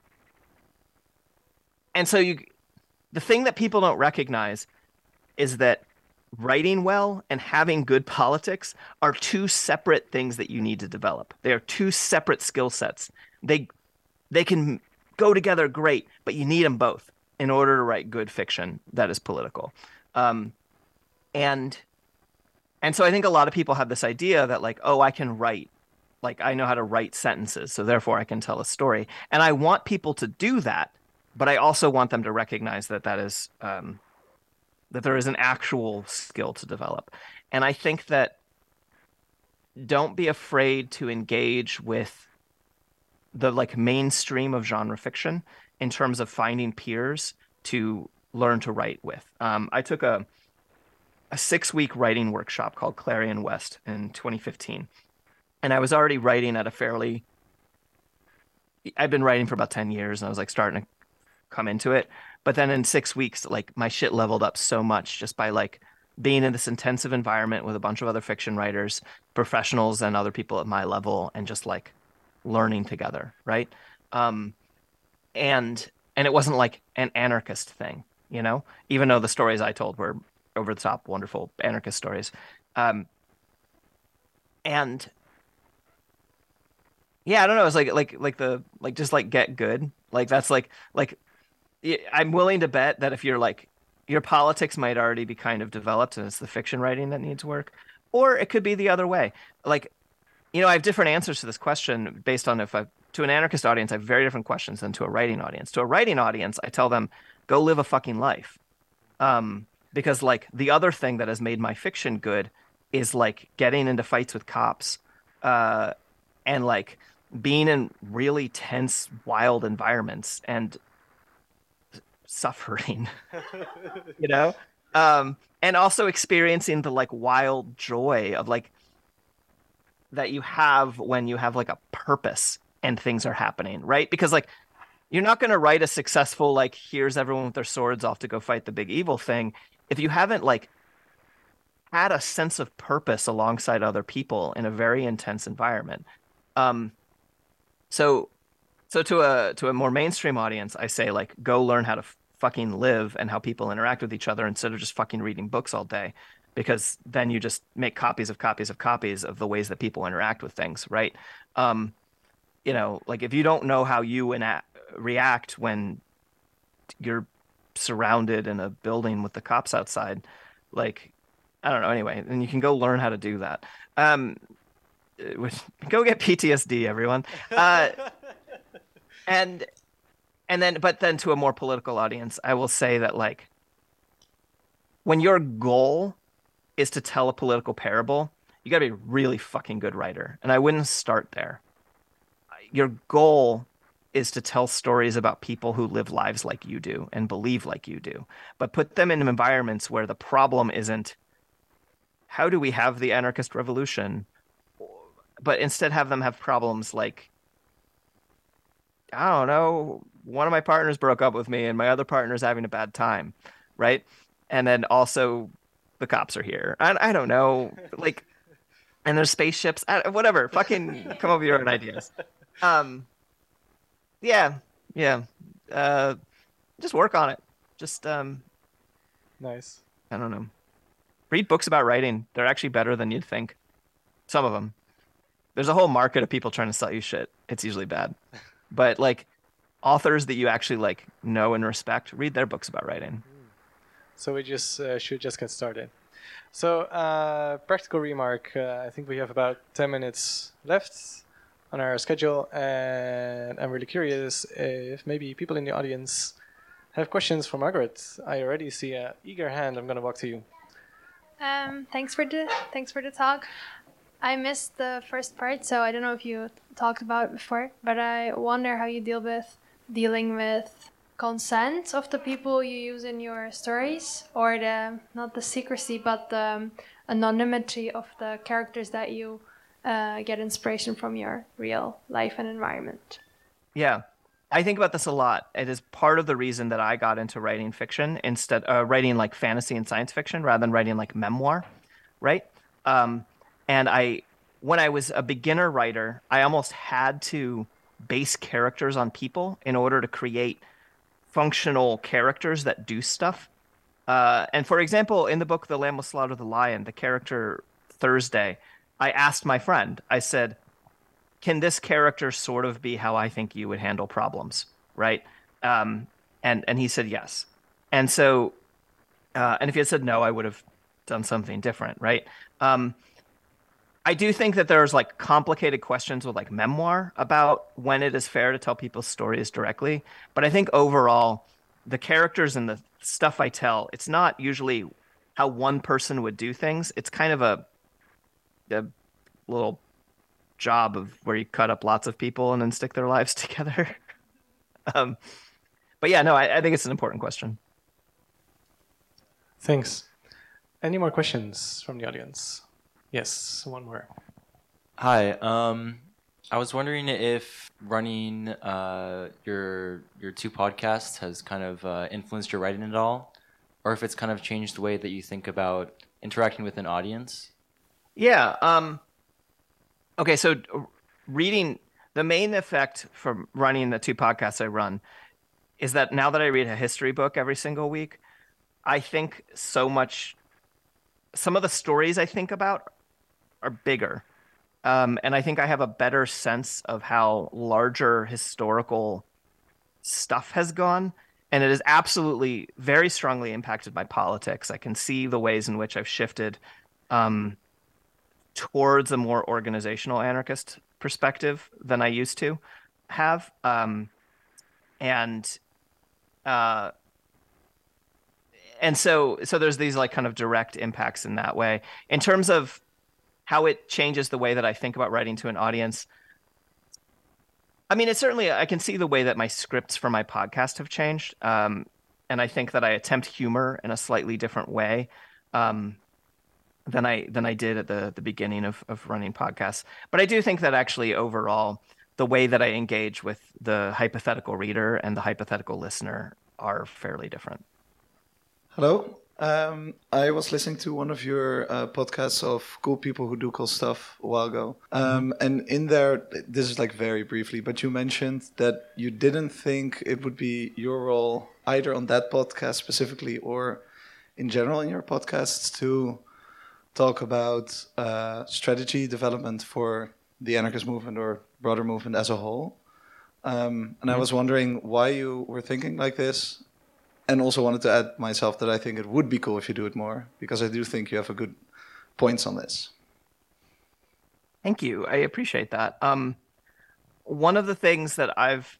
[SPEAKER 4] and so you, the thing that people don't recognize is that writing well and having good politics are two separate things that you need to develop. They are two separate skill sets. They they can go together great, but you need them both in order to write good fiction that is political. Um, and and so I think a lot of people have this idea that like, oh, I can write, like I know how to write sentences, so therefore I can tell a story. And I want people to do that, but I also want them to recognize that that is um, that there is an actual skill to develop. And I think that don't be afraid to engage with the like mainstream of genre fiction in terms of finding peers to learn to write with. Um, I took a a six week writing workshop called Clarion West in twenty fifteen, and I was already writing at a fairly. I've been writing for about ten years, and I was like starting to come into it. But then in six weeks, like my shit leveled up so much just by like being in this intensive environment with a bunch of other fiction writers, professionals, and other people at my level, and just like learning together, right? Um, and and it wasn't like an anarchist thing, you know, even though the stories I told were over the top, wonderful anarchist stories. Um, and yeah, I don't know. It's like like like the like just like get good. Like that's like like I'm willing to bet that if you're like your politics might already be kind of developed and it's the fiction writing that needs work, or it could be the other way. Like, you know, I have different answers to this question based on if I to an anarchist audience, I have very different questions than to a writing audience. To a writing audience, I tell them, go live a fucking life. Um, because like the other thing that has made my fiction good is like getting into fights with cops, uh, and like being in really tense, wild environments and suffering, you know, um, and also experiencing the like wild joy of like that you have when you have like a purpose and things are happening, right? Because like you're not going to write a successful like here's everyone with their swords off to go fight the big evil thing if you haven't like had a sense of purpose alongside other people in a very intense environment. Um, so so to a to a more mainstream audience, I say like go learn how to f- fucking live and how people interact with each other instead of just fucking reading books all day, because then you just make copies of copies of copies of the ways that people interact with things, right? Um, you know, like if you don't know how you ina- react when you're surrounded in a building with the cops outside, like I don't know. Anyway, and you can go learn how to do that. Um, which, go get P T S D, everyone. Uh, and and then, but then to a more political audience, I will say that like when your goal is to tell a political parable, you got to be a really fucking good writer, and I wouldn't start there. Your goal is to tell stories about people who live lives like you do and believe like you do, but put them in environments where the problem isn't how do we have the anarchist revolution, but instead have them have problems like, I don't know, one of my partners broke up with me and my other partner's having a bad time, right? And then also the cops are here. I, I don't know, like, and there's spaceships, I, whatever, fucking come up with your own ideas. Um, yeah, yeah. Uh, just work on it. Just, um,
[SPEAKER 1] Nice.
[SPEAKER 4] I don't know. Read books about writing. They're actually better than you'd think. Some of them. There's a whole market of people trying to sell you shit. It's usually bad. But like authors that you actually like know and respect, read their books about writing.
[SPEAKER 1] So we just uh, should just get started. So uh, practical remark. Uh, I think we have about ten minutes left on our schedule, and I'm really curious if maybe people in the audience have questions for Margaret. I already see an eager hand. I'm gonna walk to you.
[SPEAKER 5] Um, thanks for the thanks for the talk. I missed the first part, so I don't know if you talked about it before, but I wonder how you deal with dealing with consent of the people you use in your stories, or the not the secrecy, but the um, anonymity of the characters that you uh, get inspiration from your real life and environment.
[SPEAKER 4] Yeah. I think about this a lot. It is part of the reason that I got into writing fiction instead, uh, writing like fantasy and science fiction rather than writing like memoir, right? Um, and I, when I was a beginner writer, I almost had to base characters on people in order to create functional characters that do stuff. Uh, and for example, in the book The Lamb Will Slaughter the Lion, the character Thursday, I asked my friend, I said, can this character sort of be how I think you would handle problems, right? Um, and and he said yes. And so, uh, and if he had said no, I would have done something different, right? Um, I do think that there's like complicated questions with like memoir about when it is fair to tell people's stories directly. But I think overall, the characters and the stuff I tell, it's not usually how one person would do things. It's kind of a, a little job of where you cut up lots of people and then stick their lives together. um, but yeah, no, I, I think it's an important question.
[SPEAKER 1] Thanks. Any more questions from the audience? Yes, one more.
[SPEAKER 6] Hi. Um, I was wondering if running uh, your your two podcasts has kind of uh, influenced your writing at all, or if it's kind of changed the way that you think about interacting with an audience.
[SPEAKER 4] Yeah. Um, okay. So reading, the main effect from running the two podcasts I run is that now that I read a history book every single week, I think so much, some of the stories I think about are bigger. Um, and I think I have a better sense of how larger historical stuff has gone. And it has absolutely very strongly impacted my politics. I can see the ways in which I've shifted um, towards a more organizational anarchist perspective than I used to have. Um, and uh, and so so there's these like kind of direct impacts in that way. In terms of how it changes the way that I think about writing to an audience, I mean, it's certainly, I can see the way that my scripts for my podcast have changed. Um, and I think that I attempt humor in a slightly different way um, than I than I did at the, the beginning of, of running podcasts. But I do think that actually overall, the way that I engage with the hypothetical reader and the hypothetical listener are fairly different.
[SPEAKER 7] Hello. Um, I was listening to one of your uh, podcasts of cool people who do cool stuff a while ago. Um, and in there, this is like very briefly, but you mentioned that you didn't think it would be your role either on that podcast specifically or in general in your podcasts to talk about uh, strategy development for the anarchist movement or broader movement as a whole. Um, and I was wondering why you were thinking like this. And also wanted to add myself that I think it would be cool if you do it more, because I do think you have a good points on this.
[SPEAKER 4] Thank you. I appreciate that. Um, one of the things that I've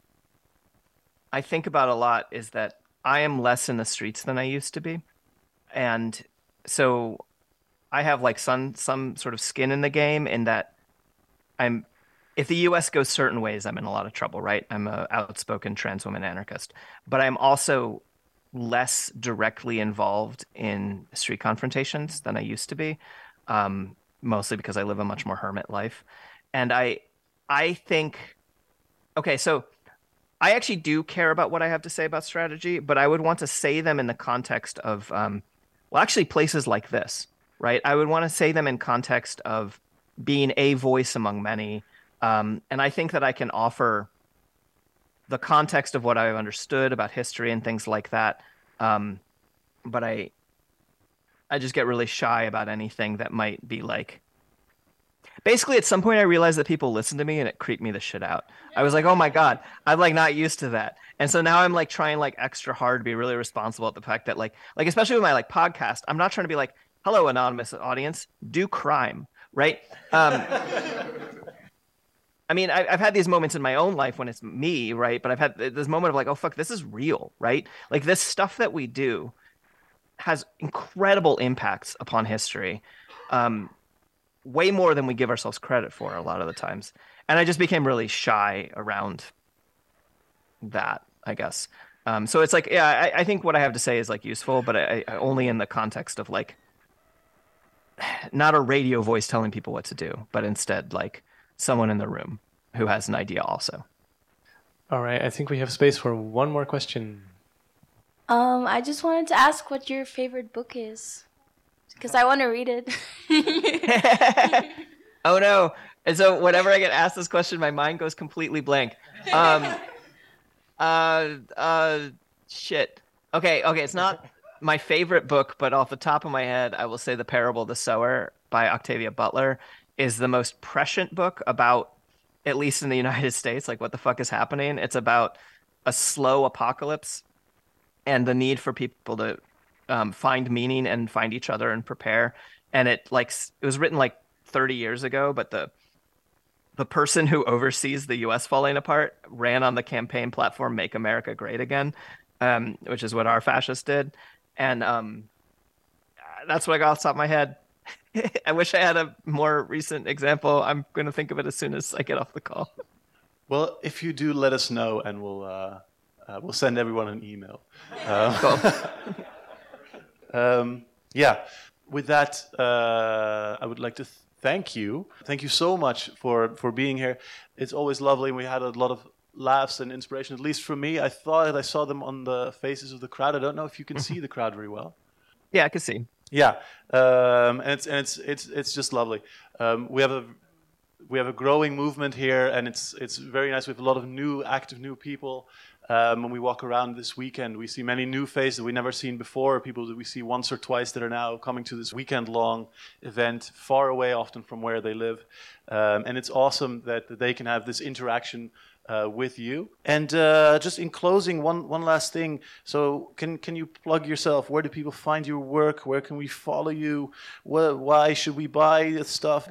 [SPEAKER 4] I think about a lot is that I am less in the streets than I used to be. And so I have like some some sort of skin in the game in that I'm if the U S goes certain ways, I'm in a lot of trouble, right? I'm an outspoken trans woman anarchist, but I'm also less directly involved in street confrontations than I used to be, um, mostly because I live a much more hermit life. And I, I think, okay, so I actually do care about what I have to say about strategy, but I would want to say them in the context of, um, well, actually places like this, right? I would want to say them in context of being a voice among many. Um, and I think that I can offer the context of what I've understood about history and things like that. Um, but I, I just get really shy about anything that might be like, basically at some point I realized that people listen to me and it creeped me the shit out. I was like, oh my God, I'm like not used to that. And so now I'm like trying like extra hard to be really responsible at the fact that like, like, especially with my like podcast, I'm not trying to be like, hello, anonymous audience, do crime, right? Um, I mean, I, I've had these moments in my own life when it's me, right? But I've had this moment of like, oh, fuck, this is real, right? Like this stuff that we do has incredible impacts upon history, um, way more than we give ourselves credit for a lot of the times. And I just became really shy around that, I guess. Um, so it's like, yeah, I, I think what I have to say is like useful, but I, I only in the context of like, not a radio voice telling people what to do, but instead like, someone in the room who has an idea also.
[SPEAKER 1] All right, I think we have space for one more question.
[SPEAKER 8] Um, I just wanted to ask what your favorite book is, because I want to read it.
[SPEAKER 4] Oh no! And so whenever I get asked this question, my mind goes completely blank. Um, uh, uh, shit. Okay, okay, it's not my favorite book, but off the top of my head, I will say The Parable of the Sower by Octavia Butler is the most prescient book about, at least in the United States, like what the fuck is happening. It's about a slow apocalypse and the need for people to um, find meaning and find each other and prepare. And it like it was written like thirty years ago, but the the person who oversees the U S falling apart ran on the campaign platform "Make America Great Again," um, which is what our fascists did. And um, that's what I got off the top of my head. I wish I had a more recent example. I'm going to think of it as soon as I get off the call.
[SPEAKER 2] Well, if you do, let us know, and we'll uh, uh, we'll send everyone an email. Uh, um, yeah. With that, uh, I would like to th- thank you. Thank you so much for for being here. It's always lovely. We had a lot of laughs and inspiration, at least for me. I thought I saw them on the faces of the crowd. I don't know if you can see the crowd very well.
[SPEAKER 4] Yeah, I can see.
[SPEAKER 2] Yeah, um, and it's and it's it's it's just lovely. Um, we have a we have a growing movement here, and it's it's very nice. We have a lot of new, active, new people. Um, when we walk around this weekend, we see many new faces that we've never seen before. People that we see once or twice that are now coming to this weekend-long event, far away, often from where they live. Um, and it's awesome that, that they can have this interaction uh, with you. And uh, just in closing, one one last thing. So, can can you plug yourself? Where do people find your work? Where can we follow you? Wh- why should we buy this stuff?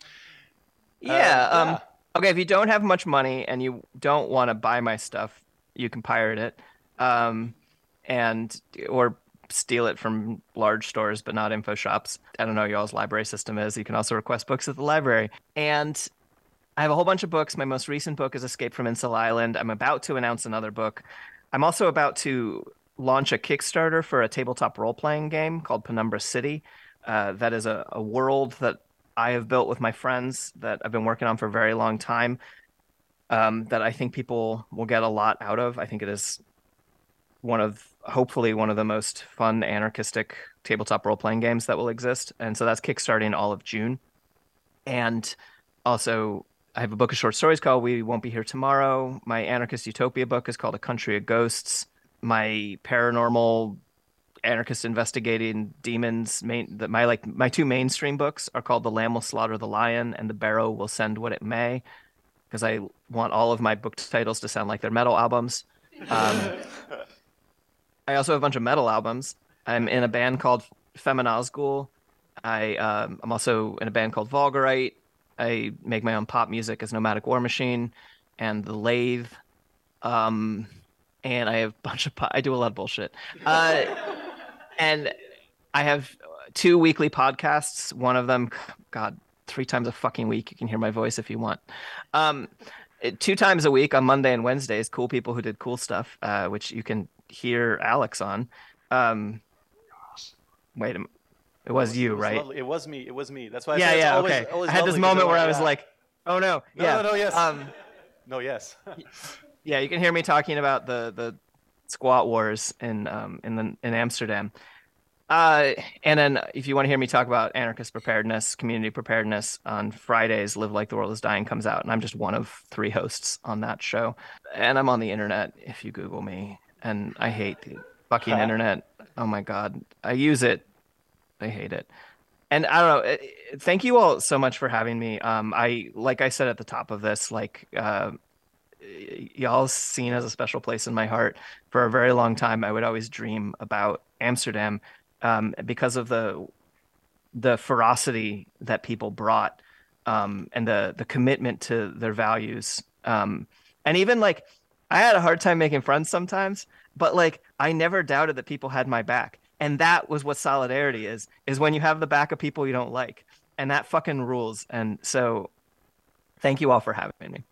[SPEAKER 4] Yeah.
[SPEAKER 2] Uh,
[SPEAKER 4] um,
[SPEAKER 2] yeah.
[SPEAKER 4] Okay, if you don't have much money and you don't want to buy my stuff, you can pirate it, um, and or steal it from large stores, but not info shops. I don't know what y'all's library system is. You can also request books at the library. And I have a whole bunch of books. My most recent book is Escape from Insel Island. I'm about to announce another book. I'm also about to launch a Kickstarter for a tabletop role-playing game called Penumbra City. Uh, that is a, a world that I have built with my friends that I've been working on for a very long time. Um, that I think people will get a lot out of. I think it is one of, hopefully, one of the most fun anarchistic tabletop role-playing games that will exist. And so that's kickstarting all of June. And also, I have a book of short stories called We Won't Be Here Tomorrow. My anarchist utopia book is called A Country of Ghosts. My paranormal anarchist investigating demons, main, the, my like my two mainstream books are called The Lamb Will Slaughter the Lion and The Barrow Will Send What It May, because I want all of my book titles to sound like they're metal albums. Um, I also have a bunch of metal albums. I'm in a band called Feminazgul. I, um, I'm also in a band called Vulgarite. I make my own pop music as Nomadic War Machine and The Lathe. Um, and I have a bunch of... Po- I do a lot of bullshit. Uh, and I have two weekly podcasts. One of them, God... three times a fucking week. You can hear my voice if you want. Um, two times a week on Monday and Wednesdays, Cool People Who Did Cool Stuff, uh, which you can hear Alex on. Um, wait a minute. It was you,
[SPEAKER 2] it was
[SPEAKER 4] right?
[SPEAKER 2] Lovely. It was me. It was me. That's why I
[SPEAKER 4] yeah,
[SPEAKER 2] said it's
[SPEAKER 4] yeah,
[SPEAKER 2] always,
[SPEAKER 4] okay.
[SPEAKER 2] always
[SPEAKER 4] I had this
[SPEAKER 2] lovely,
[SPEAKER 4] moment where I
[SPEAKER 2] yeah.
[SPEAKER 4] was like, oh no.
[SPEAKER 2] No,
[SPEAKER 4] yeah.
[SPEAKER 2] no, no, yes.
[SPEAKER 4] Um,
[SPEAKER 2] no, yes.
[SPEAKER 4] yeah, you can hear me talking about the, the squat wars in, um, in, the, in Amsterdam. Uh, and then if you want to hear me talk about anarchist preparedness, community preparedness, on Fridays, Live Like the World is Dying comes out, and I'm just one of three hosts on that show. And I'm on the internet if you Google me, and I hate the fucking internet. Oh my God. I use it. I hate it. And I don't know. Thank you all so much for having me. Um, I, like I said at the top of this, like, uh, y'all seen as a special place in my heart. For a very long time, I would always dream about Amsterdam. Um, because of the the ferocity that people brought, um, and the the commitment to their values, um, and even like I had a hard time making friends sometimes, but like I never doubted that people had my back, and that was what solidarity is: is when you have the back of people you don't like, and that fucking rules. And so, thank you all for having me.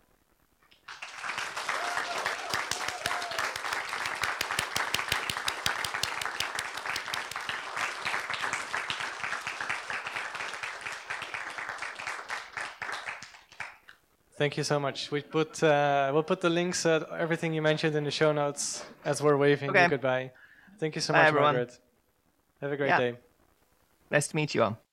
[SPEAKER 1] Thank you so much. We put uh, we'll put the links, uh, everything you mentioned in the show notes as we're waving
[SPEAKER 4] okay.
[SPEAKER 1] you goodbye. Thank you so
[SPEAKER 4] Bye,
[SPEAKER 1] much,
[SPEAKER 4] everyone.
[SPEAKER 1] Margaret. Have a great
[SPEAKER 4] yeah.
[SPEAKER 1] day.
[SPEAKER 4] Nice to meet you all.